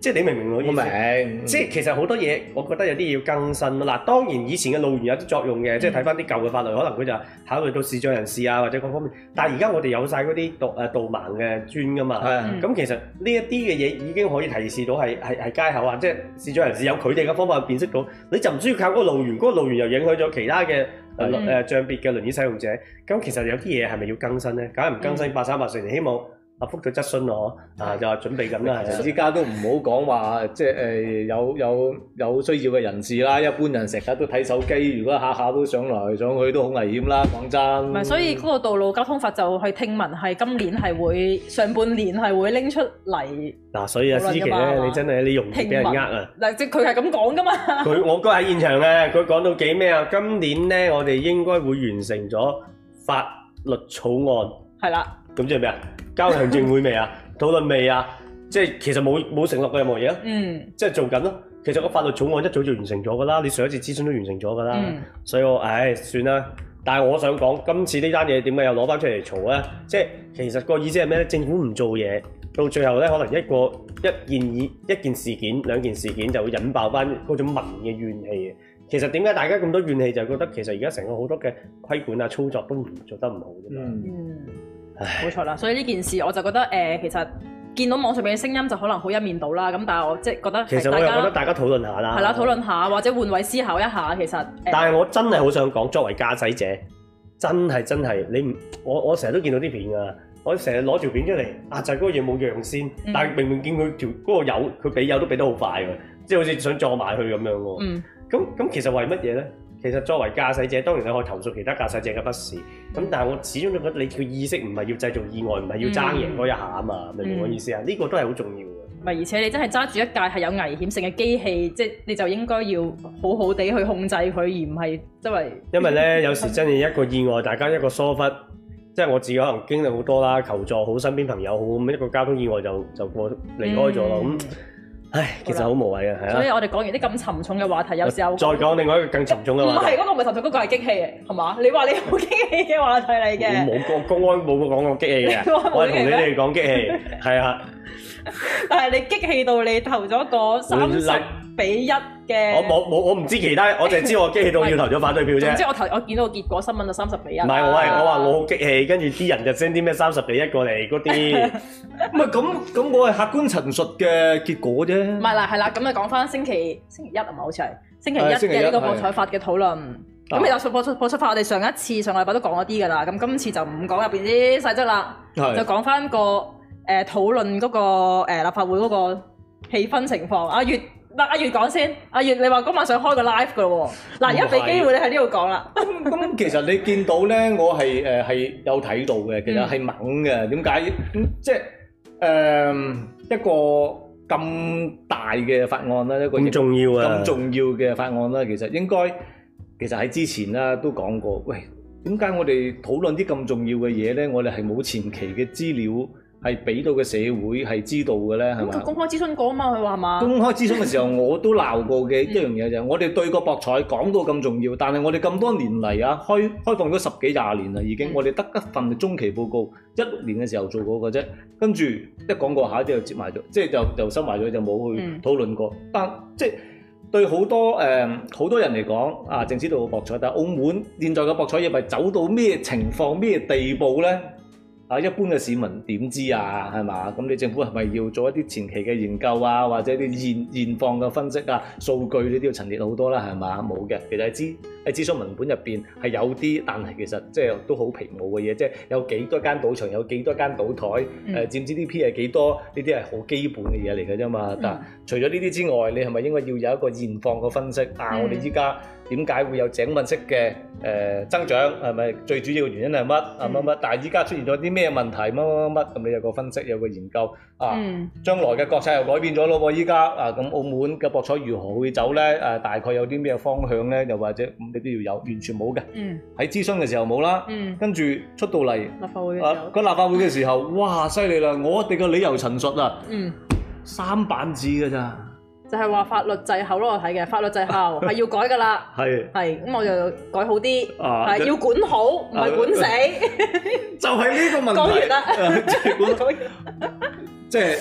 即係你明唔明我意思？我明。即係其實好多嘢，我覺得有啲要更新咯。嗱，當然以前嘅路緣有啲作用嘅，嗯、即係睇翻啲舊嘅法律，可能佢就考慮到視障人士啊或者各方面。但係而家我哋有晒嗰啲導誒導盲嘅專噶嘛。係、嗯。咁其實呢一啲嘅嘢已經可以提示到係係係街口啊，即係視障人士有佢哋嘅方法去辨識到，你就唔需要靠嗰個路緣，嗰、嗰個路緣又影響咗其他嘅誒誒障別嘅輪椅使用者。咁其實有啲嘢係咪要更新咧？梗係唔更新，八三八四年，希望。啊，覆咗質詢我，啊就話準備緊啦， 依家都唔好講話，即係誒有有有需要嘅人士啦，一般人成日都睇手機，如果下下都上來上去都好危險啦，講真。唔係， 所以嗰個道路交通法就係聽聞係今年係會上半年係會拎出嚟。嗱， 所以阿思琪咧，你真係你容易俾人呃啊！ 嗱，即佢係咁講噶嘛。 佢我哥喺現場嘅，佢講到幾咩啊？今年咧，我哋應該會完成咗法律草案。係啦。咁即係咩啊？交行政會未啊？討論未啊？即係其實冇冇承諾過任何嘢啊？嗯，即係做緊咯。其實個法律草案一早就完成咗噶啦，你上一次諮詢都完成咗噶啦。嗯、所以我唉算啦。但係我想講，今次呢單嘢點解又攞翻出嚟嘈咧？即係其實個意思係咩咧？政府唔做嘢，到最後咧可能一個一件以一件事件、兩件事件就會引爆翻嗰種民嘅怨氣。其實點解大家咁多怨氣，就係覺得其實而家成個好多嘅規管啊、操作都唔做得唔好啫嘛。嗯。冇錯啦，所以呢件事我就覺得誒、呃，其實見到網上面嘅聲音就可能好一面倒啦。咁但係我即係覺得，其實我又覺得大家討論下啦，係啦，討論下或者換位思考一下。其實，呃、但係我真係好想講，作為駕駛者，真係真係你唔我我成日都見到啲片㗎，我成日攞條片出嚟壓制嗰個嘢冇讓先，嗯、但係明明見佢條嗰個油佢俾油都俾得好快㗎，即係好似想撞埋去咁樣喎。嗯，咁咁其實為乜嘢咧？其實作為駕駛者，當然你可以投訴其他駕駛者嘅不是，咁但係我始終都覺得你嘅意識唔係要製造意外，唔係要爭贏嗰一下啊嘛，明唔明我意思啊？呢、嗯、個都係好重要嘅。唔係，而且你真係揸住一架係有危險性嘅機器，即係你就應該要好好地去控制佢，而唔係周圍。因為咧，有時真係一個意外，大家一個疏忽，即係我自己可能經歷好多啦，求助好身邊朋友好，咁一個交通意外就就過離開咗咯咁。嗯唉，其實好無謂嘅，係啊。所以我哋講完啲咁沉重嘅話題，有時候再講另外一個更沉重嘅話題。唔係嗰個唔係沉重，嗰個係激氣嘅，係嘛？你話你好激氣嘅話題嚟嘅。我冇講公安冇講過激氣嘅，我係同你哋講激氣，係啊。但係你激氣到你投咗個三十比一嘅。我冇冇我唔知其他，我淨係知我激氣到要投咗反對票啫。總之我投我見到個結果新聞就三十比一。唔係我係我話我好激氣，跟住啲人就 send 啲咩三十比一過嚟嗰啲。唔係咁咁，我係客觀陳述嘅結果啫。唔係啦，係啦，咁你講翻星期星期一係咪好似係星期一嘅呢個博彩法嘅討論。咁其實博博博彩法我哋上一次上個禮拜都講咗啲㗎啦，咁今次就唔講入邊啲細則啦，就講翻個誒討論嗰個誒立法會嗰個氣氛情況。阿月，嗱阿月講先，阿月你話嗰晚想開個 live 㗎喎，嗱而家俾機會你喺呢度講啦。咁咁其實你見到咧，我係誒係有睇到嘅，其實係猛嘅。點解？即係誒一個咁大嘅法案啦，一個咁重要啊，咁重要嘅法案啦，其實應該。其實喺之前啦都講過，喂，點解我哋討論啲咁重要嘅嘢咧？我哋係冇前期嘅資料係俾到嘅社會係知道嘅咧，係嘛？咁佢公開諮詢過啊嘛，佢話係嘛？公開諮詢嘅時候我都鬧過嘅一樣嘢就係，我哋對個博彩講到咁重要，但係我哋咁多年嚟啊，開開放咗十幾廿年啦已經，我哋得一份中期報告，一六年嘅時候做過嘅啫，跟住一講過下啲就接埋咗，即係就就收埋咗就冇去討論過，嗯、但即係。對好多誒好、呃、多人嚟講，啊，淨知道博彩，但係澳門現在嘅博彩業係走到咩情況、咩地步咧？啊，一般嘅市民點知啊？係嘛？咁你政府係咪要做一啲前期嘅研究啊，或者啲現現況嘅分析啊、數據呢啲要陳列好多啦？係嘛？冇嘅，其實係諮喺諮詢文本入邊係有啲，但係其實即係都好皮毛嘅嘢，即係有幾多間賭場，有幾多間賭台，誒、嗯呃、佔 G D P 係幾多？呢啲係好基本嘅嘢嚟嘅啫嘛。但係除咗呢啲之外，你係咪應該要有一個現況嘅分析？啊，嗯、我哋依家點解會有井噴式嘅誒、呃、增長？係咪最主要嘅原因係乜啊乜乜？但係依家出現咗啲咩問題？乜乜乜乜咁？你有個分析，有個研究啊。嗯、將來嘅國策又改變咗咯喎！依家啊，咁澳門嘅博彩如何會走咧？誒、啊，大概有啲咩方向咧？又或者你都要有，完全冇嘅。嗯。喺諮詢嘅時候冇啦。嗯。跟住出到嚟立法會嘅時候，個、啊、立法會嘅時候，哇！犀利啦！我哋嘅理由陳述啊，嗯，三版紙㗎咋。就係話法律滯後咯，我睇嘅法律滯後係要改㗎啦。係係咁，我就改好啲，係、啊、要管好，唔係管死。就係呢個問題。講完啦。即係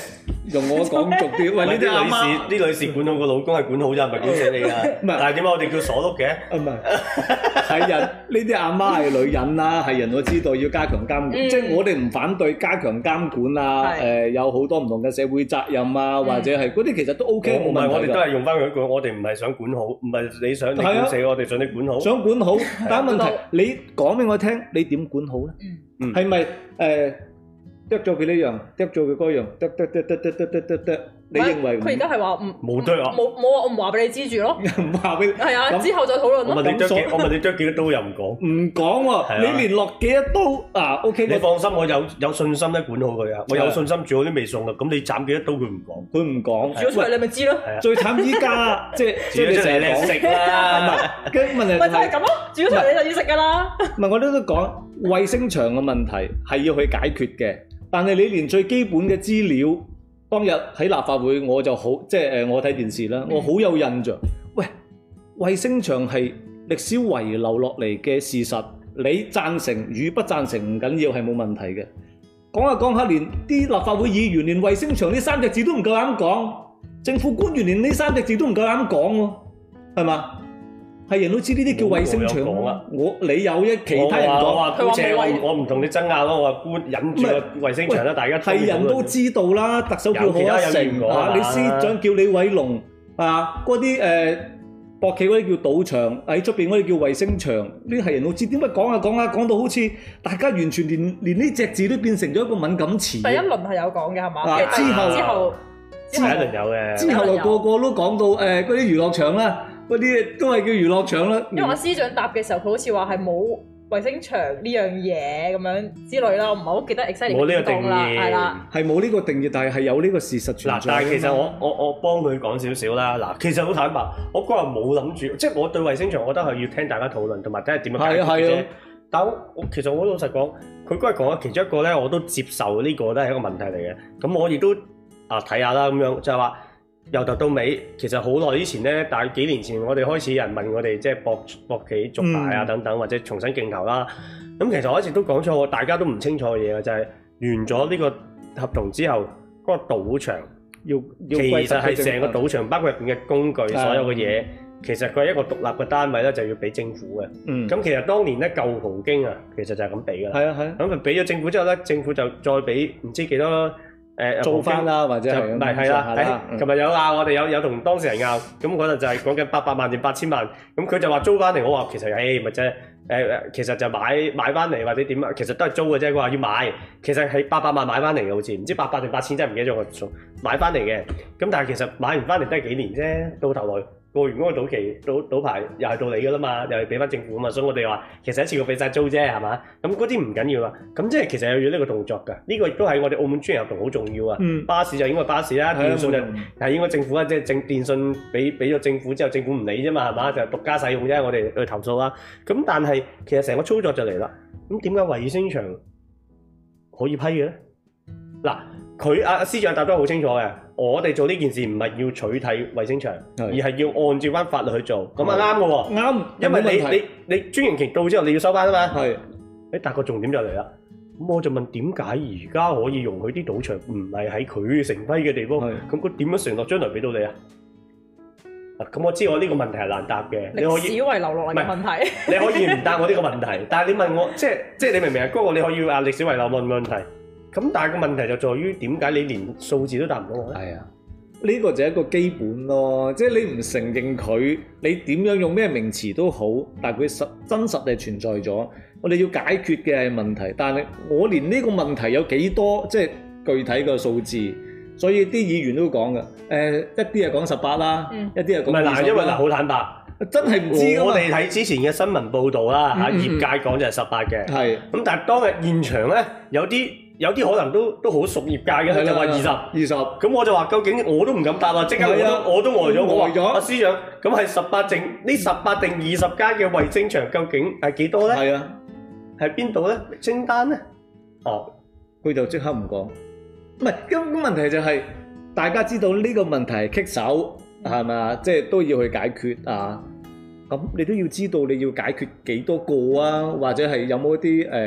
用我講俗啲，喂呢啲阿媽， 啲女士管好個老公係管好啫，唔係管死你啊！唔係，但係點解我哋叫鎖碌嘅？ 啊唔係，係人呢啲阿媽係女人啦，係人都知道要加強監管，即係我哋唔反對加強監管啊。誒有好多唔同嘅社會責任啊，或者係嗰啲其實都 OK 冇問題㗎。唔係，我哋都係用翻佢一句，我哋唔係想管好，唔係你想你管死我哋，想你管好。想管好，但係問題你講俾我聽，你點管好咧？嗯，係咪誒？剁咗佢呢樣，剁咗佢嗰樣，剁剁剁剁剁剁剁剁。你認為佢而家係話唔冇剁啊？ 冇冇話我唔話俾你知住咯。唔話俾你。係啊，之後再討論咯。 我問你剁幾？我問你剁幾多刀又唔講。唔講喎，你連落幾多刀啊 ？OK。你放心，我有有信心咧管好佢啊！我有信心煮好啲味餸啦。咁你斬幾多刀佢唔講，佢唔講。煮咗出嚟你咪知咯。最慘依家即係即係你成日講食啦。跟住問題係咪就係咁咯？煮咗出嚟你就要食㗎啦。唔係我都都講衛星場嘅問題係要去解決嘅。但係你連最基本嘅資料，當日喺立法會我就好，即係誒我睇電視啦，我好有印象。喂，衛星場係歷史遺留落嚟嘅事實，你贊成與不贊成唔緊要，係冇問題嘅。講下講下，連啲立法會議員連衛星場呢三隻字都唔夠膽講，政府官員連呢三隻字都唔夠膽講喎，係嘛？係人都知呢啲叫衛星場啊！我你有一其他人講，我話姑且我我唔同你爭拗咯，我話官忍住個衛星場啦，大家係人都知道啦。特首叫賀一誠啊，你司長叫李偉龍啊，嗰啲誒博企嗰啲叫賭場，喺出邊嗰啲叫衛星場，呢啲係人都知。點解講下講下講到好似大家完全連連呢隻字都變成咗一個敏感詞？第一輪係有講嘅係嘛？之後之後第一輪有嘅，之後又個個都講到誒嗰啲娛樂場啦。嗰啲都係叫娛樂場啦。因為我司長答嘅時候，佢好似話係冇衛星場呢樣嘢咁樣之類啦，我唔係好記得 exactly 冇呢個定義，係啦，係冇呢個定義，但係係有呢個事實存在。嗱，但係其實我我我幫佢講少少啦。嗱，其實好坦白，我嗰日冇諗住，即係我對衛星場，我覺得係要聽大家討論，同埋睇下點樣解決嘅啫。但我我其實我老實講，佢嗰日講嘅其中一個咧，我都接受呢個都係一個問題嚟嘅。咁我亦都啊睇下啦，咁樣就係話。由頭到尾，其實好耐以前咧，大幾年前我哋開始有人問我哋，即係博博企續牌啊等等，或者重新競投啦。咁其實我一直都講錯，大家都唔清楚嘅嘢就係、是、完咗呢個合同之後，嗰、那個賭場要，要其實係成個賭場，包括入邊嘅工具，所有嘅嘢，其實佢係一個獨立嘅單位咧，就要俾政府嘅。嗯。咁其實當年咧舊葡京啊，其實就係咁俾㗎。係啊係啊。咁佢俾咗政府之後咧，政府就再俾唔知幾多。誒做翻啦，或者係唔係係啦？誒，琴日有拗，我哋有有同當事人拗，咁嗰陣就係講緊八百萬定八千萬，咁佢就話租翻嚟，我話其實誒咪啫，誒誒其實就買買翻嚟或者點啊，其實都係租嘅啫。佢話要買，其實係八百萬買翻嚟嘅，好似唔知八百定八千，真係唔記得咗個數，買翻嚟嘅。咁但係其實買完翻嚟都係幾年啫，到頭來。過完嗰個賭期賭賭牌又係到你㗎啦嘛，又係俾翻政府啊嘛，所以我哋話其實一次過俾晒租啫，係嘛？咁嗰啲唔緊要啦。咁即係其實有要呢個動作㗎。呢、這個亦都係我哋澳門專營合同好重要啊。嗯、巴士就應該巴士啦，電信就係應該政府啊，即係政電信俾俾咗政府之後，政府唔理啫嘛，係嘛？就係獨家使用啫，我哋去投訴啦。咁但係其實成個操作就嚟啦。咁點解衛星場可以批嘅咧？嗱。佢阿司長答得好清楚嘅，我哋做呢件事唔係要取締衛星場，是而係要按照翻法律去做，咁啊啱嘅喎，啱，因為你你你專營期到之後你要收翻啊嘛，係是，誒但個重點就嚟啦，咁我就問點解而家可以容許啲賭場唔係喺佢承批嘅地方，咁佢點樣承諾將來俾到你啊？咁我知我呢個問題係難答嘅，歷史遺留落嚟嘅問題，你可以唔答我呢個問題，但係你問我，即係即係你明唔明啊？嗰個你可以話歷史遺留問問題。咁但係個問題就在於點解你連數字都答唔到我咧？係啊，呢個就係一個基本咯，即係你唔承認佢，你點樣用咩名詞都好，但係佢實真實地存在咗，我哋要解決嘅係問題。但係我連呢個問題有幾多，即係具體嘅數字，所以啲議員都講嘅。誒，一啲係講十八啦，一啲係講唔係嗱，因為嗱好坦白，真係唔知㗎嘛。我哋睇之前嘅新聞報導啦，嚇業界講就係十八嘅，係咁，但係當日現場咧有啲。有啲可能都都好熟業界嘅，佢就話二十二十，咁我就話究竟我都唔敢答啦，即刻我都我都呆咗，我話阿司長，咁係十八定呢十八定二十間嘅衛星場究竟係幾多咧？係啊，係邊度咧？清單咧？哦，佢就即刻唔講，唔係，咁咁問題就係大家知道呢個問題係棘手係咪啊？即係都要去解決啊！咁你都要知道你要解決幾多個啊？或者係有冇一啲誒？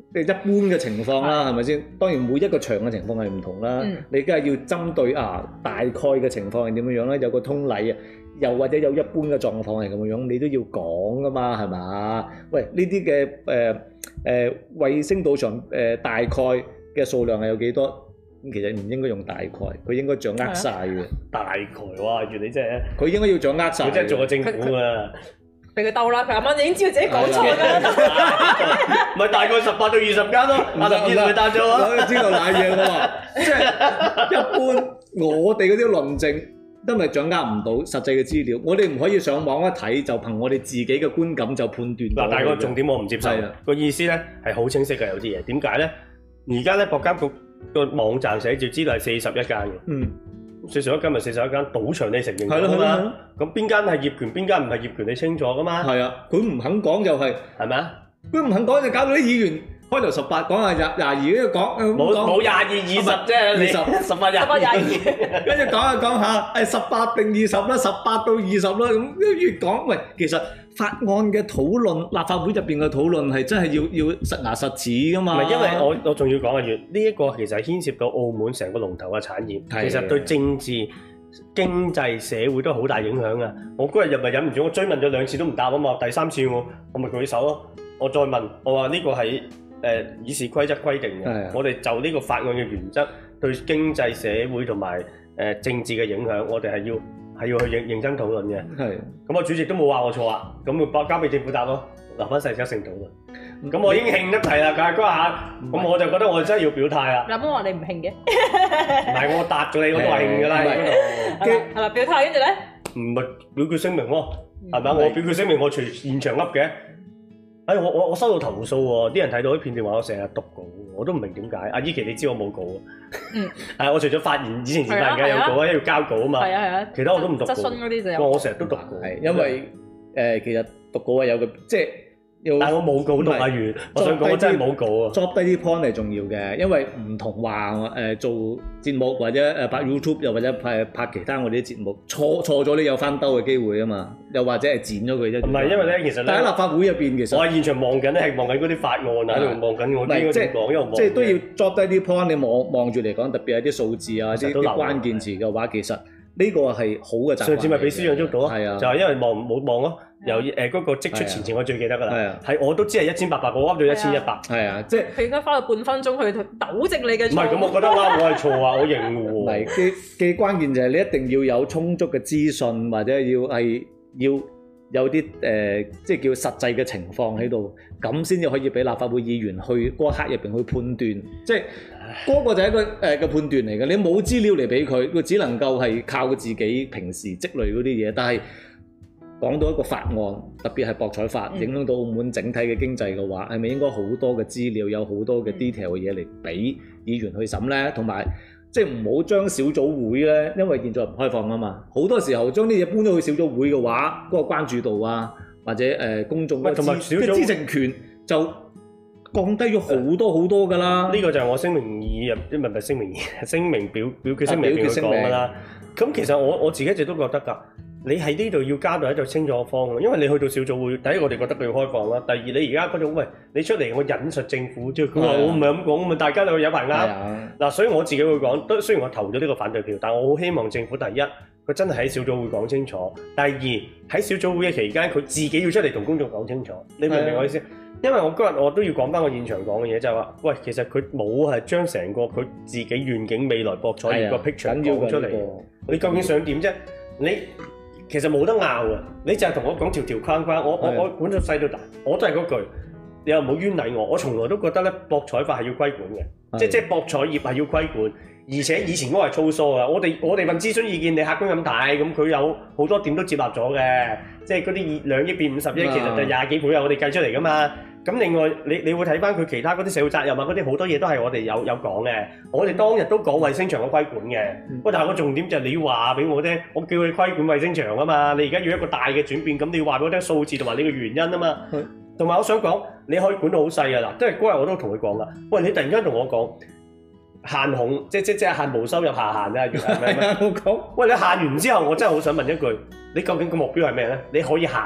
即係一般嘅情況啦，係咪先？當然每一個場嘅情況係唔同啦。嗯、你梗係要針對啊大概嘅情況係點樣樣咧？有個通例啊，又或者有一般嘅狀況係咁樣樣，你都要講噶嘛，係嘛？喂，呢啲嘅誒誒衛星賭場誒、呃、大概嘅數量係有幾多？咁其實唔應該用大概，佢應該掌握晒嘅。大概哇，原來你真係佢應該要掌握晒。佢真係做過政府啊！ 俾佢兜啦，佢啱啱已經知道自己講錯㗎， 咪大概十八到二十間咯，阿林醫生咪答咗啊！ 我知道瀨嘢喎，即係一般我哋嗰啲論證都係掌握唔到實際嘅資料，我哋唔可以上網一睇就憑我哋自己嘅觀感就判斷。 嗱，但係個重點我唔接受，個意思咧係好清晰嘅，有啲嘢點解咧？而家咧博監局個網站寫住知道係四十一間嘅。嗯。四十一間咪四十一間賭場，你承認㗎嘛？咁邊間係業權，邊間唔係業權，你清楚㗎嘛？ 係啊，佢唔肯講就係係咪啊？佢唔肯講就搞到啲議員開頭十八講下廿廿二，跟住講冇冇廿二二十啫，二十十八廿二， 跟住講下講下，誒十八定二十啦，十八到二十啦，咁越講喂，其實法案嘅討論，立法會入邊嘅討論係真係要要實牙實齒㗎嘛？ 唔係，因為我我仲要講嘅，呢一個其實係牽涉到澳門成個龍頭嘅產業，其實對政治、經濟、社會都好大影響啊！我嗰日又咪忍唔住，我追問咗兩次都唔答啊嘛，第三次我我咪舉手咯，我再問，我話呢個係誒議事規則規定嘅，我哋就呢個法案嘅原則對經濟、社會同埋誒政治嘅影響，我哋係要。係要去認認真討論嘅，係咁我主席都冇話我錯啊，咁咪交交俾政府答咯，留翻細則性討論。咁我已經興得滯啦，但係嗰下，咁我就覺得我真係要表態啦。 有冇話你唔興嘅？ 唔係我答咗你，我都話興㗎啦。 係啦，表態跟住咧？ 唔係表決聲明咯，係咪？我表決聲明，我隨現場噏嘅。哎，我我我收到投訴喎，啲人睇到啲片段話我成日讀稿，我都唔明點解。阿依琪，你知我冇稿啊？嗯，係我除咗發言，以前前發言嘅有稿啊，要交稿啊嘛。係啊係啊，其他我都唔讀稿。質詢嗰啲就有。我成日都讀稿， 係因為誒其實讀稿係有個即係。 但係我冇稿讀阿如，我想講我真係冇稿啊。 作低啲 point 係重要嘅，因為唔同話誒做節目或者誒拍 YouTube 又或者拍拍其他我哋啲節目錯錯咗，你有翻兜嘅機會啊嘛，又或者係剪咗佢啫。唔係因為咧，其實咧， 但喺立法會入邊其實我喺現場望緊咧，係望緊嗰啲法案啊，喺度望緊我應該點講，因為望即係都要作低啲 point，你望望住嚟講，特別係啲數字啊、啲啲關鍵詞嘅話，其實呢個係好嘅習慣。上次咪俾司長捉到啊，就係因為望冇望咯。由誒嗰個積出前前我最記得㗎啦，係我都知係一千八百，我噏到一千一百，係啊，即係佢應該花咗半分鐘去糾正你嘅錯。 唔係咁，我覺得啦，我係錯啊，我認喎。 唔係嘅嘅關鍵就係你一定要有充足嘅資訊，或者要係要有啲誒，即係叫實際嘅情況喺度，咁先至可以俾立法會議員去嗰刻入邊去判斷，即係嗰個就係一個誒嘅判斷嚟嘅。你冇資料嚟俾佢，佢只能夠係靠自己平時積累嗰啲嘢，但係。講到一個法案，特別係博彩法，影響到澳門整體嘅經濟嘅話，係咪應該好多嘅資料，有好多嘅 detail 嘅嘢嚟俾議員去審呢？同埋即係唔好將小組會呢，因為現在唔開放啊嘛，好多時候將啲嘢搬咗去小組會嘅話，嗰、嗰個關注度啊，或者誒、呃、公眾嘅知情權就降低咗好多好多㗎啦。 呢個就係我聲明二入，唔係唔係聲明二，聲明表表決聲明入邊講㗎啦。咁其實我我自己一直都覺得㗎。你喺呢度要加到一個清楚嘅方案，因為你去到小組會，第一我哋覺得佢要開放啦，第二你而家嗰種喂，你出嚟我引述政府，即係佢話我唔係咁講，咁咪大家都有排啱。嗱，所以我自己會講，都雖然我投咗呢個反對票，但我好希望政府第一，佢真係喺小組會講清楚；第二喺小組會嘅期間，佢自己要出嚟同公眾講清楚。你明唔明我意思？因為我今日我都要講翻個現場講嘅嘢，就係話，喂，其實佢冇係將成個佢自己願景未來博彩業個 picture 講出嚟。你究竟想點啫？你其實冇得拗嘅，你就係同我講條條框框，我我我管咗細到大，我都係嗰句，你又唔好冤枉我。我從來都覺得咧，博彩法係要規管嘅，即係即係博彩業係要規管，而且以前嗰個係粗疏嘅。我哋我哋問諮詢意見，你客觀咁睇，咁佢有好多點都接納咗嘅，即係嗰啲兩億變五十億，其實就廿幾倍啊！我哋計出嚟噶嘛。咁另外，你你會睇翻佢其他嗰啲社會責任啊，嗰啲好多嘢都係我哋有有講嘅。我哋當日都講衛星場嘅規管嘅。不過、嗯、但係個重點就係你要話俾我聽，我叫你規管衛星場啊嘛。你而家要一個大嘅轉變，咁你要話俾我聽數字同埋你嘅原因啊嘛。同埋、嗯、我想講，你可以管到好細噶啦。即係嗰日我都同佢講啦。喂，你突然間同我講限控，即即即係限無收入下限啊？係咪？我講。喂，你限完之後，我真係好想問一句，你究竟個目標係咩咧？你可以限，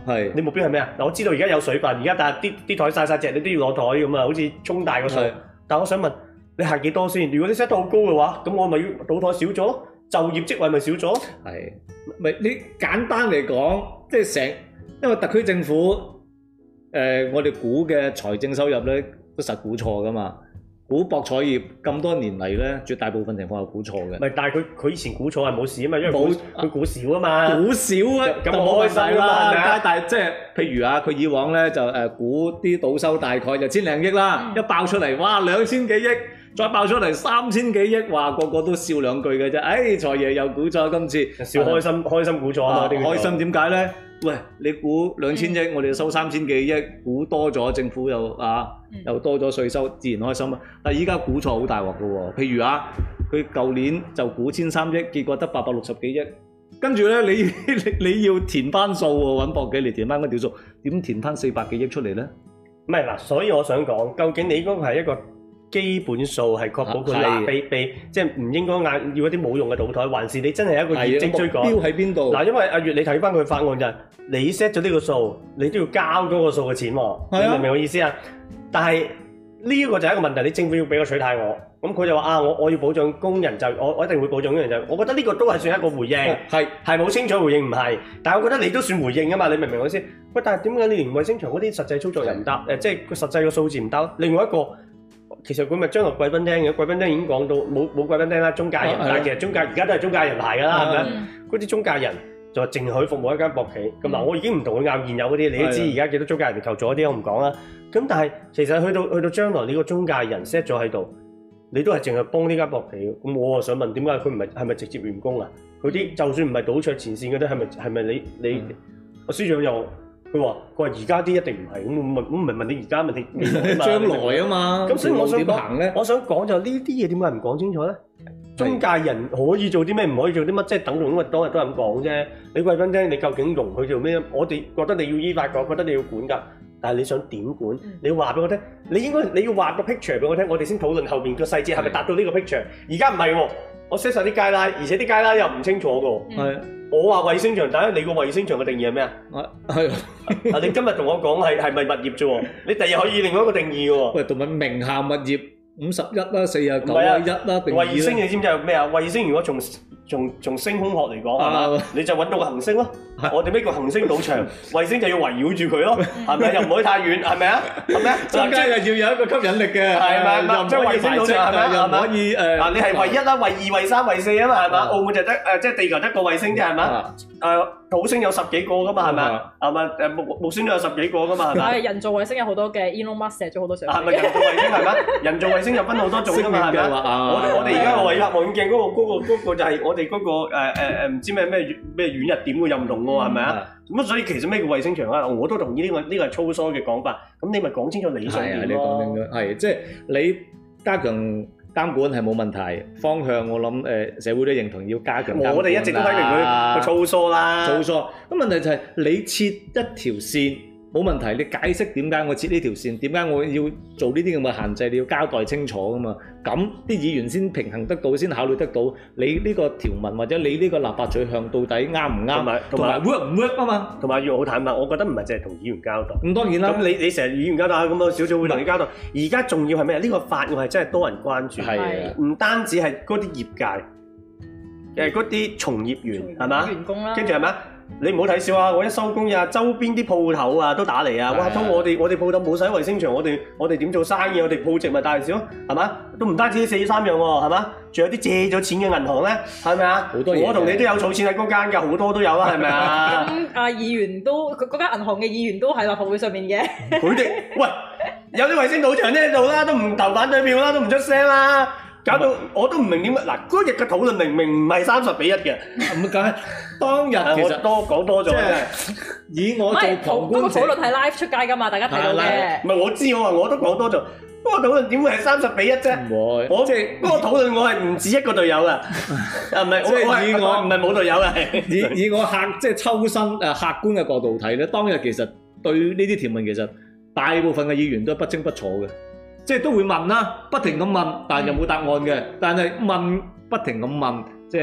係你目標係咩啊？嗱，我知道而家有水分，而家但係啲啲台晒晒隻，你都要攞台咁啊，好似沖大個數。但係我想問你限幾多先？如果你 set 到好高嘅話，咁我咪要倒台少咗咯，就業職位咪少咗？ 係咪你簡單嚟講，即係成因為特區政府誒、呃，我哋估嘅財政收入咧都實估錯噶嘛。估博彩業咁多年嚟咧，絕大部分情況係估錯嘅。唔係，但係佢佢以前估錯係冇事啊嘛，因為冇佢估少啊嘛。估少啊，咁我開心啦，係咪啊？但係即係譬如啊，佢以往咧就誒估啲賭收大概就千零億啦，一爆出嚟，哇兩千幾億，再爆出嚟三千幾億，話個個都笑兩句嘅啫。誒財爺又估錯今次，笑開心開心估錯啊嘛，開心點解咧？喂，你估兩千億，我哋收三千幾億，估多咗，政府又啊又多咗稅收，自然開心啊！但係依家估錯好大鑊㗎喎，譬如啊，佢舊年就估千三億，結果得八百六十幾億，跟住咧你你你要填翻數喎，揾博企嚟填翻嗰條數，點填翻四百幾億出嚟咧？唔係嗱，所以我想講，究竟你嗰個係一個基本數係確保佢嗱被被即係唔應該嗌要一啲冇用嘅賭台，還是你真係一個業績追趕？目標喺邊度？嗱，因為阿月你睇翻佢法案就係你 set 咗呢個數，你都要交嗰個數嘅錢喎，你明唔明我意思啊？但係呢一個就係一個問題，你政府要俾個取態我，咁佢就話啊，我我要保障工人就我我一定會保障工人就，我覺得呢個都係算一個回應，係係冇清楚回應唔係，但係我覺得你都算回應啊嘛，你明唔明我意思？喂，但係點解你連衛星場嗰啲實際操作又唔得？誒，即係個實際嘅數字唔得。另外一個。其實佢咪將來貴賓廳嘅，貴賓廳已經講到冇冇貴賓廳啦，中介人，但係其實中介而家都係中介人牌㗎啦，係咪？嗰啲中介人就話淨係可以服務一間博企，咁嗱我已經唔同佢拗現有嗰啲，你都知而家幾多中介人嚟求助嗰啲，我唔講啦。咁但係其實去到去到將來呢個中介人 set 咗喺度，你都係淨係幫呢間博企，咁我啊想問點解佢唔係係咪直接員工啊？佢啲就算唔係賭場前線嗰啲，係咪係咪你你阿司長又？佢話：佢話而家啲一定唔係，咁問咁唔係問你而家問你將來啊嘛。咁所以我想講，我想講就呢啲嘢點解唔講清楚咧？中介人可以做啲咩，唔可以做啲乜，即係等同因為當日都係咁講啫。你貴賓廳你究竟容許做咩？我哋覺得你要依法講，覺得你要管㗎。但係你想點管？你要話俾我聽，你應該你要畫個 picture 俾我聽，我哋先討論後邊個細節係咪達到呢個 picture。而家唔係喎，我 set 曬啲 guideline，而且啲 guideline又唔清楚㗎。係。我話衛星場，但係你個衛星場嘅定義係咩啊？係啊，你今日同我講係係咪物業啫喎？你第日可以另外一個定義嘅喎。喂，同埋名下物業五十一啦、四十九啦、一啦定義啦。衛星你知唔知係咩啊？衛星如果從從從星空學嚟講係嘛？你就揾到個行星咯。我哋咩叫行星賭場？衛星就要圍繞住佢咯，係咪？又唔可以太遠，係咪啊？係咪啊？中間又要有一個吸引力嘅，係咪？又唔可以衛星賭場係咪？又唔可以誒？嗱，你係唯一啦，唯二、唯三、唯四啊嘛，係嘛？澳門就得誒，即係地球得個衛星啫，係嘛？誒，土星有十幾個噶嘛，係咪？係咪？誒木木星都有十幾個噶嘛，係咪？人造衛星有好多嘅 Elon Musk 射咗好多上。係咪人造衛星係咪？人造衛星又分好多種噶嘛，係咪？我哋我哋而家個維納望遠鏡嗰個嗰個嗰個就係我哋嗰個誒誒誒唔知咩咩咩遠日點嘅又唔同喎，係咪啊？咁所以其實咩叫衛星場啊？我都同意呢個呢個係粗疏嘅講法。咁你咪講清楚理想點咯。係啊，你講清楚。係即係你加強監管係冇問題，方向我諗誒社會都認同要加強監管。我哋一直都批評佢個粗疏啦。粗疏。咁問題就係你設一條線。冇問題，你解釋點解我設呢條線，點解我要做呢啲咁嘅限制，你要交代清楚噶嘛？咁啲議員先平衡得到，先考慮得到你呢個條文或者你呢個立法取向到底啱唔啱，同埋同埋 work 唔 work 啊嘛？同埋要好坦白，我覺得唔係淨係同議員交代。咁當然啦，咁你你成日議員交代，咁我少少會同你交代。而家重要係咩？呢個法案係真係多人關注，係唔單止係嗰啲業界，誒嗰啲從業員係嘛？員工啦，跟住係咪？你唔好睇笑啊！我一收工呀，周邊啲鋪頭啊都打嚟啊！哇，通我哋我哋鋪頭冇使衛星場，我哋我哋點做生意？我哋鋪值咪大少，係嘛？都唔單止四三樣喎，係嘛？仲有啲借咗錢嘅銀行咧，係咪啊？好多嘢，我同你都有儲錢喺嗰間㗎，好多都有啦，係咪啊？咁啊，議員都嗰間銀行嘅議員都喺立法會上面嘅。佢哋喂有啲衛星賭場喺度啦，都唔投反對票啦，都唔出聲啦。搞到我都唔明點解嗱，嗰日嘅討論明明唔係三十比一嘅，咁梗係當日其實多講多咗嘅。以我做旁觀者，嗰個討論係 live 出街㗎嘛，大家睇到嘅。唔係我知，我話我都講多咗，嗰個討論點會係三十比一啫？唔會，我即係嗰個討論我係唔止一個隊友㗎，啊唔係，即係以我唔係冇隊友嘅。以以我客即係抽身誒客觀嘅角度睇咧，當日其實對呢啲條文其實大部分嘅議員都不清不楚嘅。即係都會問啦，不停咁問，但係又冇答案嘅。但係問不停咁問，即係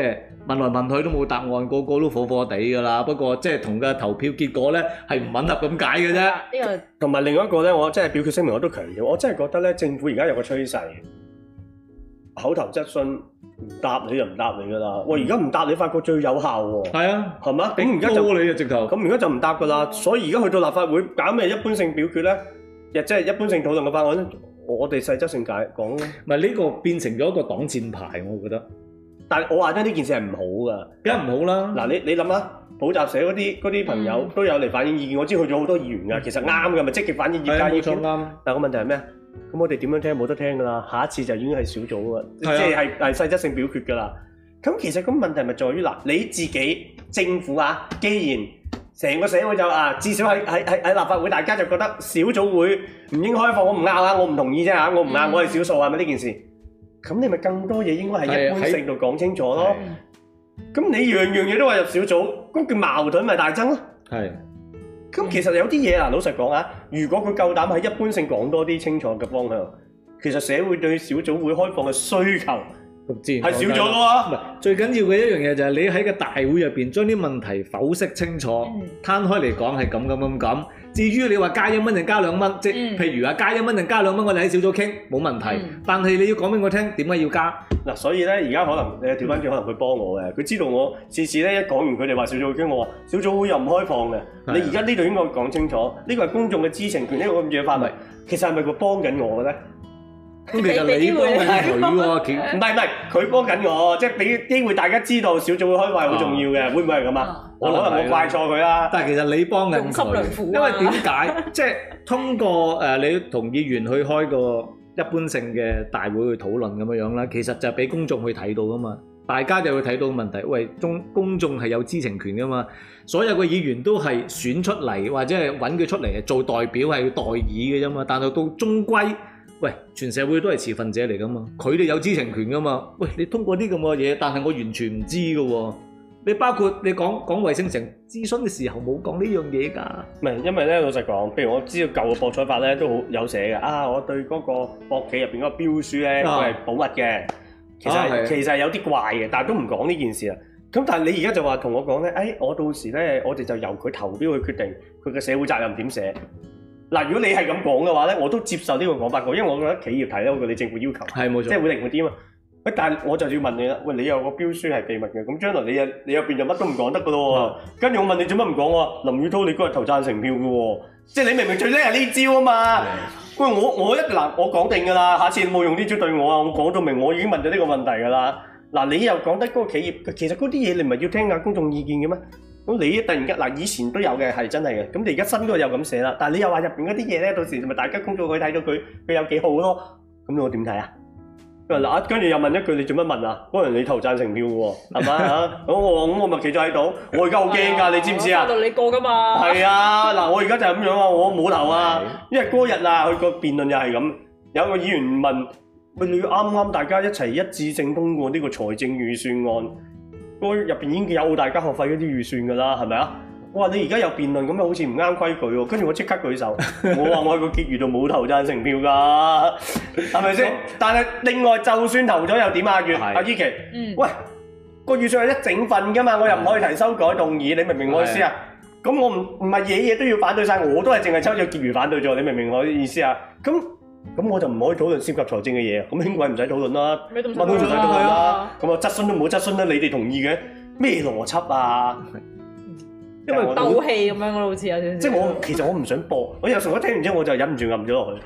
問來問去都冇答案，個個都火火地㗎啦。不過即係同嘅投票結果咧係唔吻合咁解嘅啫。呢個同埋另外一個咧，我真係表決聲明我都強調，我真係覺得咧政府而家有個趨勢，口頭質詢唔答你就唔答你㗎啦。喂，而家唔答你發覺最有效喎。係啊，係嘛？咁而家就你啊直頭。 咁而家就唔答㗎啦。所以而家去到立法會搞咩一般性表決咧，亦即係一般性討論嘅法案咧，我哋細則性解講咯。 唔係呢個變成咗一個擋箭牌，我覺得。 但係我話真呢件事係唔好㗎， 梗係唔好啦。 嗱，你你諗下，補習社嗰啲嗰啲朋友都有嚟反映意見，我知去咗好多議員㗎，其實啱㗎，咪積極反映業界意見。啱。但係個問題係咩？咁我哋點樣聽冇得聽㗎啦，下一次就已經係小組㗎，即係係係細則性表決㗎啦。咁其實個問題咪在於嗱，你自己政府啊，既然成個社會就啊，至少喺喺喺喺立法會，大家就覺得小組會唔應該開放，我唔拗啊，我唔同意啫嚇，我唔拗，我係少數係咪呢件事？咁你咪更多嘢應該係一般性度講清楚咯。咁你樣樣嘢都話入小組，咁叫矛盾咪大增咯。係。咁其實有啲嘢嗱，老實講啊，如果佢夠膽喺一般性講多啲清楚嘅方向，其實社會對小組會開放嘅需求係少咗嘅喎。唔係，最緊要嘅一樣嘢就係你喺個大會入邊將啲問題剖析清楚，攤開嚟講係咁咁咁咁。至於你話加一蚊定加兩蚊，即係譬如話加一蚊定加兩蚊，我哋喺小組傾冇問題。但係你要講俾我聽點解要加嗱，所以咧而家可能你調翻轉，可能佢幫我嘅，佢知道我次次咧一講完佢哋話小組會傾，我話小組會又唔開放嘅。你而家呢度應該講清楚，呢個係公眾嘅知情權，呢個咁嘅範圍，其實係咪佢幫緊我嘅咧？咁其實你幫緊佢喎，唔係唔係，佢幫緊我，即係俾機會大家知道小組會開會係好重要嘅，會唔會係咁啊？可能我怪錯佢啦。但係其實你幫緊佢，因為點解？即係通過誒你同議員去開個一般性嘅大會去討論咁樣樣啦，其實就係俾公眾去睇到噶嘛，大家就會睇到問題。喂，中公眾係有知情權噶嘛，所有嘅議員都係選出嚟或者係揾佢出嚟做代表係代議嘅啫嘛，但係到終歸。喂，全社會都係持份者嚟噶嘛，佢哋有知情權噶嘛。喂，你通過啲咁嘅嘢，但係我完全唔知噶喎。你包括你講講衛星城諮詢嘅時候冇講呢樣嘢㗎。唔係，因為咧老實講，譬如我知道舊嘅博彩法咧都好有寫嘅。啊，我對嗰個博企入邊嗰個標書咧，佢係保密嘅。其實、啊、其實係有啲怪嘅，但係都唔講呢件事啦。咁但係你而家就話同我講咧，誒、哎，我到時咧，我哋就由佢投標去決定佢嘅社會責任點寫。嗱，如果你係咁講嘅話咧，我都接受呢個講法嘅，因為我覺得企業提咧，我覺得你政府要求係冇錯，即係會靈活啲啊嘛。喂，但係我就要問你啦，喂，你有個標書係秘密嘅，咁將來你啊你入邊就乜都唔講得嘅咯喎。跟住我問你做乜唔講喎？林宇滔你嗰日投贊成票嘅喎，即係你明明最叻係呢招啊嘛。喂，我我一嗱我講定㗎啦，下次你冇用呢招對我啊，我講到明，我已經問咗呢個問題㗎啦。嗱，你又講得嗰個企業，其實嗰啲嘢你唔係要聽下公眾意見嘅咩？咁你突然間嗱，以前都有嘅，係真係嘅。咁你而家新嗰個又咁寫啦，但係你又話入邊嗰啲嘢咧，到時咪大家公眾可以睇到佢佢有幾好咯。咁我點睇啊？嗱，跟住又問一句，你做乜問啊？可能你投贊成票嘅喎，係嘛嚇？咁我咁我咪企咗喺度，我而家好驚㗎，你知唔知啊？到你過㗎嘛？係啊，嗱，我而家就係咁樣啊，我冇投啊，因為嗰日啊，佢個辯論又係咁，有個議員問，喂，你啱啱大家一齊一致性通過呢個財政預算案。嗰入邊已經有大家學費嗰啲預算㗎啦，係咪啊？我話你而家有辯論咁樣，好似唔啱規矩喎。跟住我即刻舉手，我話我喺個結餘度冇投贊成票㗎，係咪先？但係另外就算投咗又點啊？月阿依琪，喂，個預算係一整份㗎嘛，我又唔可以提修改動議，你明唔明我意思啊？咁我唔唔係嘢嘢都要反對晒，我都係淨係抽咗結餘反對咗，你明唔明我意思啊？咁。咁我就唔可以討論涉及財政嘅嘢啊！咁輕軌唔使討論啦，乜都唔使討論啦。咁啊質詢都冇質詢啦，你哋同意嘅咩邏輯啊？因為鬥氣咁樣咯，好似有少少。即係我其實我唔想播，我有時候一聽完之後我就忍唔住撳咗落去。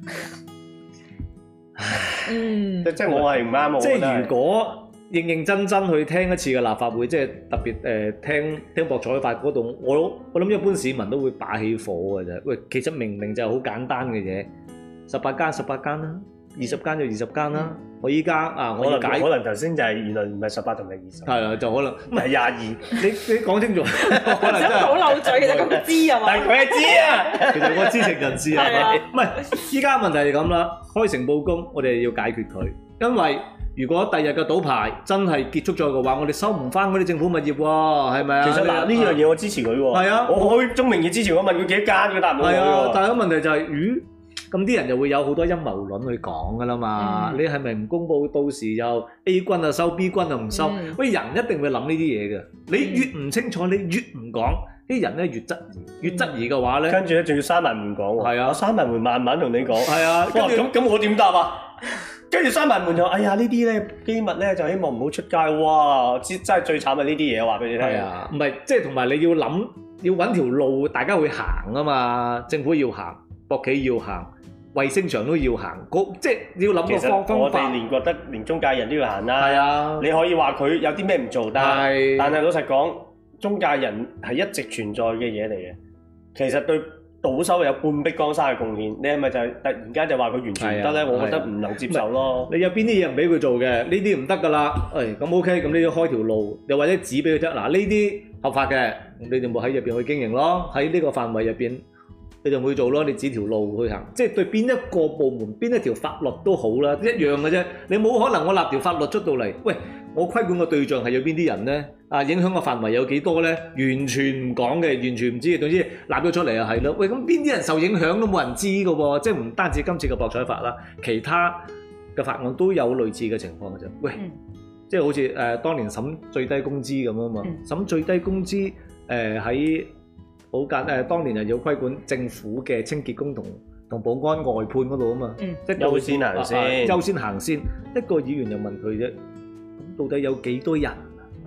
嗯，即係我係唔啱。即係如果認認真真去聽一次嘅立法會，即係特別誒聽聽博彩法嗰度，我我諗一般市民都會把起火嘅啫。喂，其實明明就係好簡單嘅嘢。十八間十八間啦，二十間就二十間啦。我依家啊，我解可能頭先就係原來唔係十八同埋二十，係啊，就可能唔係廿二。你你講清楚，可能真係好漏嘴，其實佢知啊嘛。但係佢係知啊，其實我知情人士係嘛？唔係，依家問題係咁啦，開誠佈公，我哋要解決佢。因為如果第日嘅賭牌真係結束咗嘅話，我哋收唔翻嗰啲政府物業喎，係咪啊？其實嗱，呢樣嘢我支持佢喎。係啊，我開宗明義支持，我問佢幾多間嘅，答唔到佢喎。係啊，但係個問題就係，咦？ 咁啲人就會有好多陰謀論去講噶啦嘛。嗯、你係咪唔公佈，到時又 A 軍啊收 B 軍啊唔收？喂、嗯，人一定會諗呢啲嘢嘅。你越唔清楚，你越唔講，啲人咧越質疑，越質疑嘅話咧， 跟住咧仲要閂埋門講喎。係啊，我閂埋門慢慢同你講。係啊， 咁咁我點答啊？跟住閂埋門就，哎呀呢啲咧機密咧就希望唔好出街。哇！真真係最慘係呢啲嘢，話俾你聽。係啊， 唔係即係同埋你要諗，要揾條路，大家會行啊嘛。政府要行，國企要行，衛星場都要行，即係要諗個方方法。 我哋連覺得連中介人都要行啦。 係啊， 你可以話佢有啲咩唔做得，但係但係老實講，中介人係一直存在嘅嘢嚟嘅。其實對賭收有半壁江山嘅貢獻，你係咪就係突然間就話佢完全唔得咧？啊、我覺得唔能接受咯。 你有邊啲嘢唔俾佢做嘅？呢啲唔得噶啦。誒咁 OK，咁你要開條路，又或者指俾佢聽。嗱呢啲合法嘅，你哋冇喺入邊去經營咯。喺呢個範圍入邊，你就會做咯。你指條路去行，即係對邊一個部門、邊一條法律都好啦，一樣嘅啫。你冇可能我立條法律出到嚟，喂，我規管嘅對象係有邊啲人咧？啊，影響嘅範圍有幾多咧？完全唔講嘅，完全唔知嘅。總之立咗出嚟就係咯。喂，咁邊啲人受影響都冇人知嘅喎。即係唔單止今次嘅博彩法啦，其他嘅法案都有類似嘅情況嘅啫。喂，嗯、即係好似誒、呃、當年審最低工資咁啊嘛，嗯、審最低工資誒喺好簡誒，當年又要規管政府嘅清潔工同同保安外判嗰度啊嘛， 嗯、即係優先行先， 優先行先。一個議員又問佢啫，咁到底有幾多人？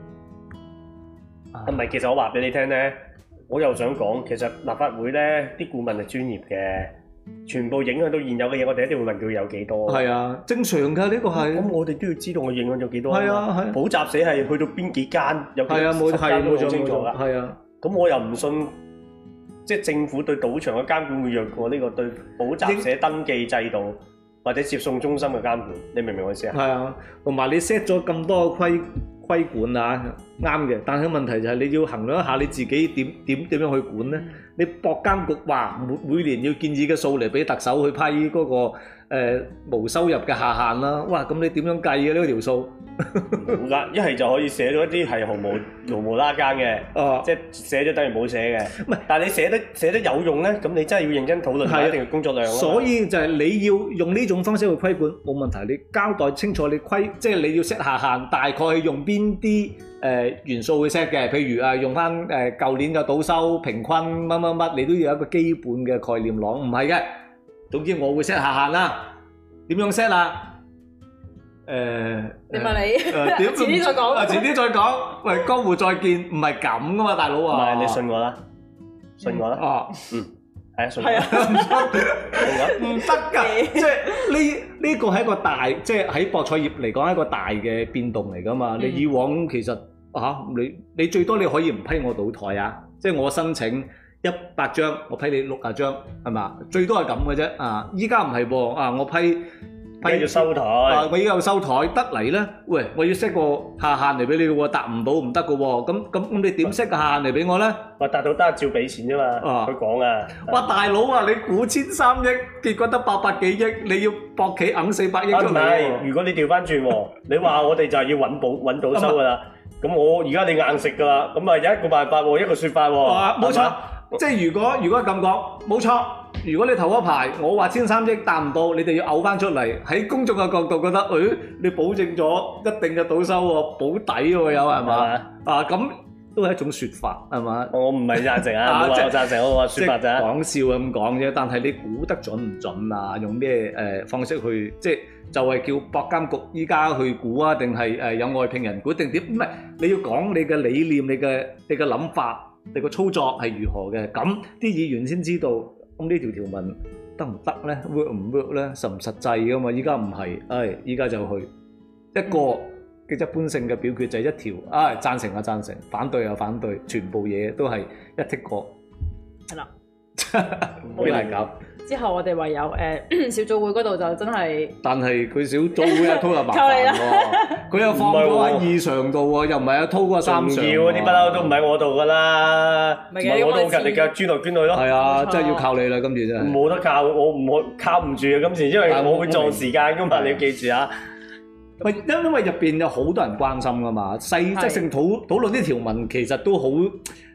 唔係，其實我話俾你聽咧，我又想講，其實立法會咧啲顧問係專業嘅，全部影響到現有嘅嘢，我哋一定會問佢有幾多。係啊，正常㗎，呢個係。咁我哋都要知道我影響咗幾多。 係啊，係。補習社係去到邊幾間？有幾間都好清楚㗎。 係啊。 咁我又唔信，即係政府對賭場嘅監管會弱過呢個對補習社登記制度或者接送中心嘅監管。你明唔明我意思啊？ 係啊，同埋你 set 咗咁多規規管啊，啱嘅，但係問題就係你要衡量一下你自己點點點樣去管咧？你博監局話每每年要建議嘅數嚟俾特首去批嗰、那個誒、呃、無收入嘅下限啦，哇！咁你點樣計嘅呢條數？ 冇㗎，一係就可以寫到一啲係毫無毫無拉更嘅，哦、即係寫咗等於冇寫嘅。唔係，但係你寫得寫得有用咧，咁你真係要認真討論下一定嘅工作量。 所以就係你要用呢種方式去規管冇問題，你交代清楚你規，即係你要 set 下限，大概係用邊啲誒元素去 set 嘅。譬如啊，用翻誒舊年嘅賭收平均乜乜乜，你都要有一個基本嘅概念攞。唔係嘅，總之我會 set 下限啦。點樣 set 啊？誒， 你問你，遲啲再講。 遲啲再講。喂，江湖再見，唔係咁噶嘛，大佬啊！ 唔係，你信我啦，信我啦。哦，嗯，係啊，信我。係啊，唔得㗎，即係呢呢個係一個大，即係喺博彩業嚟講係一個大嘅變動嚟㗎嘛。你以往其實嚇你你最多你可以唔批我賭台啊，即係我申請一百張，我批你六十張，係嘛？最多係咁嘅啫。啊，依家唔係喎，啊我批。 批要收台， 啊！我依家要收台得嚟咧，喂！我要 set 個下限嚟俾你嘅喎，達唔到唔得嘅喎，咁咁咁你點 set 個下限嚟俾我咧？ 話達到得照俾錢啫嘛，佢講啊！ 哇！大佬啊，你估千三億，結果得八百幾億，你要博企揞四百億出嚟喎！唔係，如果你調翻轉喎，你話我哋就係要揾保揾到收㗎啦，咁我而家你硬食㗎啦，咁啊有一個辦法喎，一個説法喎。 啊，冇錯，即係如果如果咁講，冇錯。如果你頭嗰排我話千三億達唔到，你哋要嘔翻出嚟，喺公眾嘅角度覺得，誒、哎，你保證咗一定嘅賭收喎，保底喎有係嘛？啊咁都係一種説法係嘛？ 我唔係贊成啊，我贊成我話説法咋？ 講笑咁講啫，但係你估得準唔準啊？用咩誒方式去即係就係、是、叫博監局依家去估啊？定係誒有外聘人估定點？唔係你要講你嘅理念、你嘅你嘅諗法、你個操作係如何嘅，咁啲議員先知道。咁呢條條文得唔得咧 ？work 唔 work 咧？實唔實際噶嘛？依家唔係，唉，依家就去一個嘅一般性嘅表決就係一條，唉，贊成啊贊成，反對啊反對，全部嘢都係一剔過。 係啦， 好難搞。 之後我哋唯有誒小組會嗰度就真係， 但係佢小組會阿滔又麻煩喎，佢又放咗喺二上度喎，又唔係阿滔嗰三上。 要嗰啲不嬲都唔喺我度噶啦，唔係我都勤力嘅，捐來捐去咯。係啊，真係要靠你啦，今次真係。 冇得靠，我唔可靠唔住啊！今次因為我會撞時間噶嘛，你要記住啊。 喂，因因為入邊有好多人關心噶嘛，細則性討討論啲條文其實都好。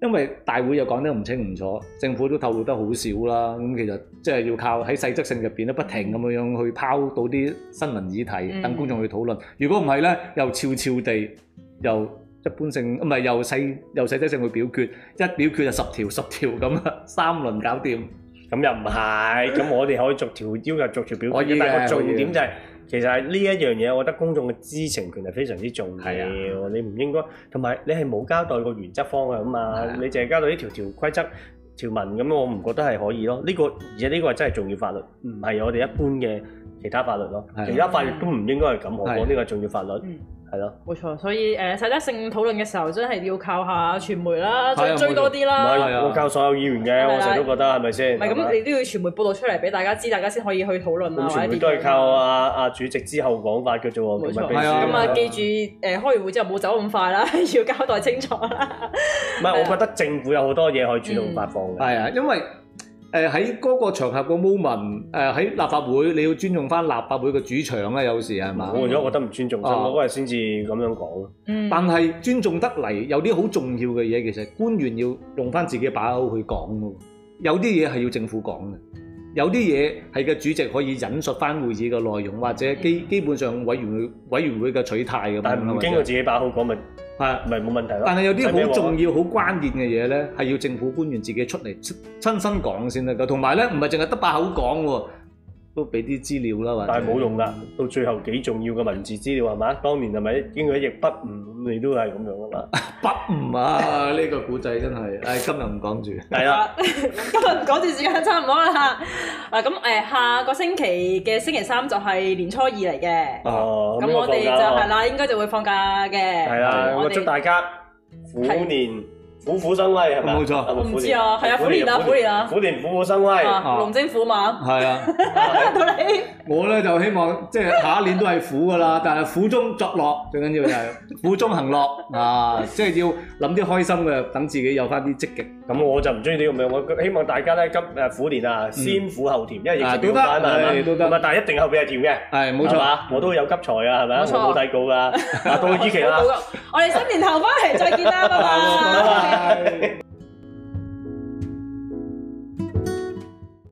因為大會又講得唔清唔楚，政府都透露得好少啦。咁其實即係要靠喺細則性入邊咧，不停咁樣樣去拋到啲新聞議題，等公眾去討論。如果唔係咧，又悄悄地又一般性，唔係又細又細則性去表決，一表決就十條十條咁啊，三輪搞掂。 咁又唔係，咁我哋可以逐條要求逐條表決，但係個重點就係、是。其實係呢一樣嘢，我覺得公眾嘅知情權係非常之重要。係啊，你唔應該，同埋你係冇交代個原則方向啊嘛，啊你淨係交代呢條條規則條文咁，我唔覺得係可以咯。呢、這個而且呢個係真係重要法律，唔係我哋一般嘅其他法律咯。啊、其他法律都唔應該係咁，何況呢個係重要法律。嗯係咯，冇錯，所以誒實質性討論嘅時候，真係要靠下傳媒啦，再追多啲啦。 唔係，我靠所有議員嘅，我成日都覺得係咪先？ 唔係咁，你都要傳媒報導出嚟俾大家知，大家先可以去討論啊。 傳媒都係靠阿阿主席之後講法嘅啫喎， 冇錯。咁啊，記住誒開完會之後冇走咁快啦，要交代清楚啦。 唔係，我覺得政府有好多嘢可以主動發放嘅。 係啊，因為。誒喺嗰個場合個 moment，誒喺立法會你要尊重翻立法會嘅主場啦，有時係嘛？ 我如果覺得唔尊重，我嗰日先至咁樣講。 嗯。但係尊重得嚟，有啲好重要嘅嘢，其實官員要用翻自己把口去講咯。有啲嘢係要政府講嘅，有啲嘢係嘅主席可以引述翻會議嘅內容，或者基基本上委員會委員會嘅取態咁樣。 但係唔經過自己把口講咪？係，咪冇問題咯。 但係有啲好重要、好關鍵嘅嘢咧，係要政府官員自己出嚟親身講先得㗎。同埋咧，唔係淨係得把口講喎，都俾啲資料啦。或者但係冇用㗎，到最後幾重要嘅文字資料係嘛？當年係咪經過一役不誤，你都係咁樣㗎嘛？ 不誤啊！呢個古仔真係，誒今日唔講住。 係啦， 今日講住時間差唔多啦。嗱咁誒，下個星期嘅星期三就係年初二嚟嘅。哦，咁我哋就係啦，應該就會放假嘅。 係啦，我祝大家虎年虎虎生威係咪？ 冇錯， 我唔知啊，係啊，虎年啊，虎年啊， 虎年虎虎生威， 龍精虎猛。係啊，到你。 我咧就希望即係下一年都係虎噶啦，但係虎中作樂最緊要就係虎中行樂啊！即係要諗啲開心嘅，等自己有翻啲積極。 咁我就唔中意呢個名，我希望大家咧今誒虎年啊，先苦後甜，因為疫情好翻啊，都得，但係一定後邊係甜嘅。係冇錯，我都有急財啊，係咪啊？我冇睇稿噶，到依期啦。 我哋新年後翻嚟再見啦，拜拜。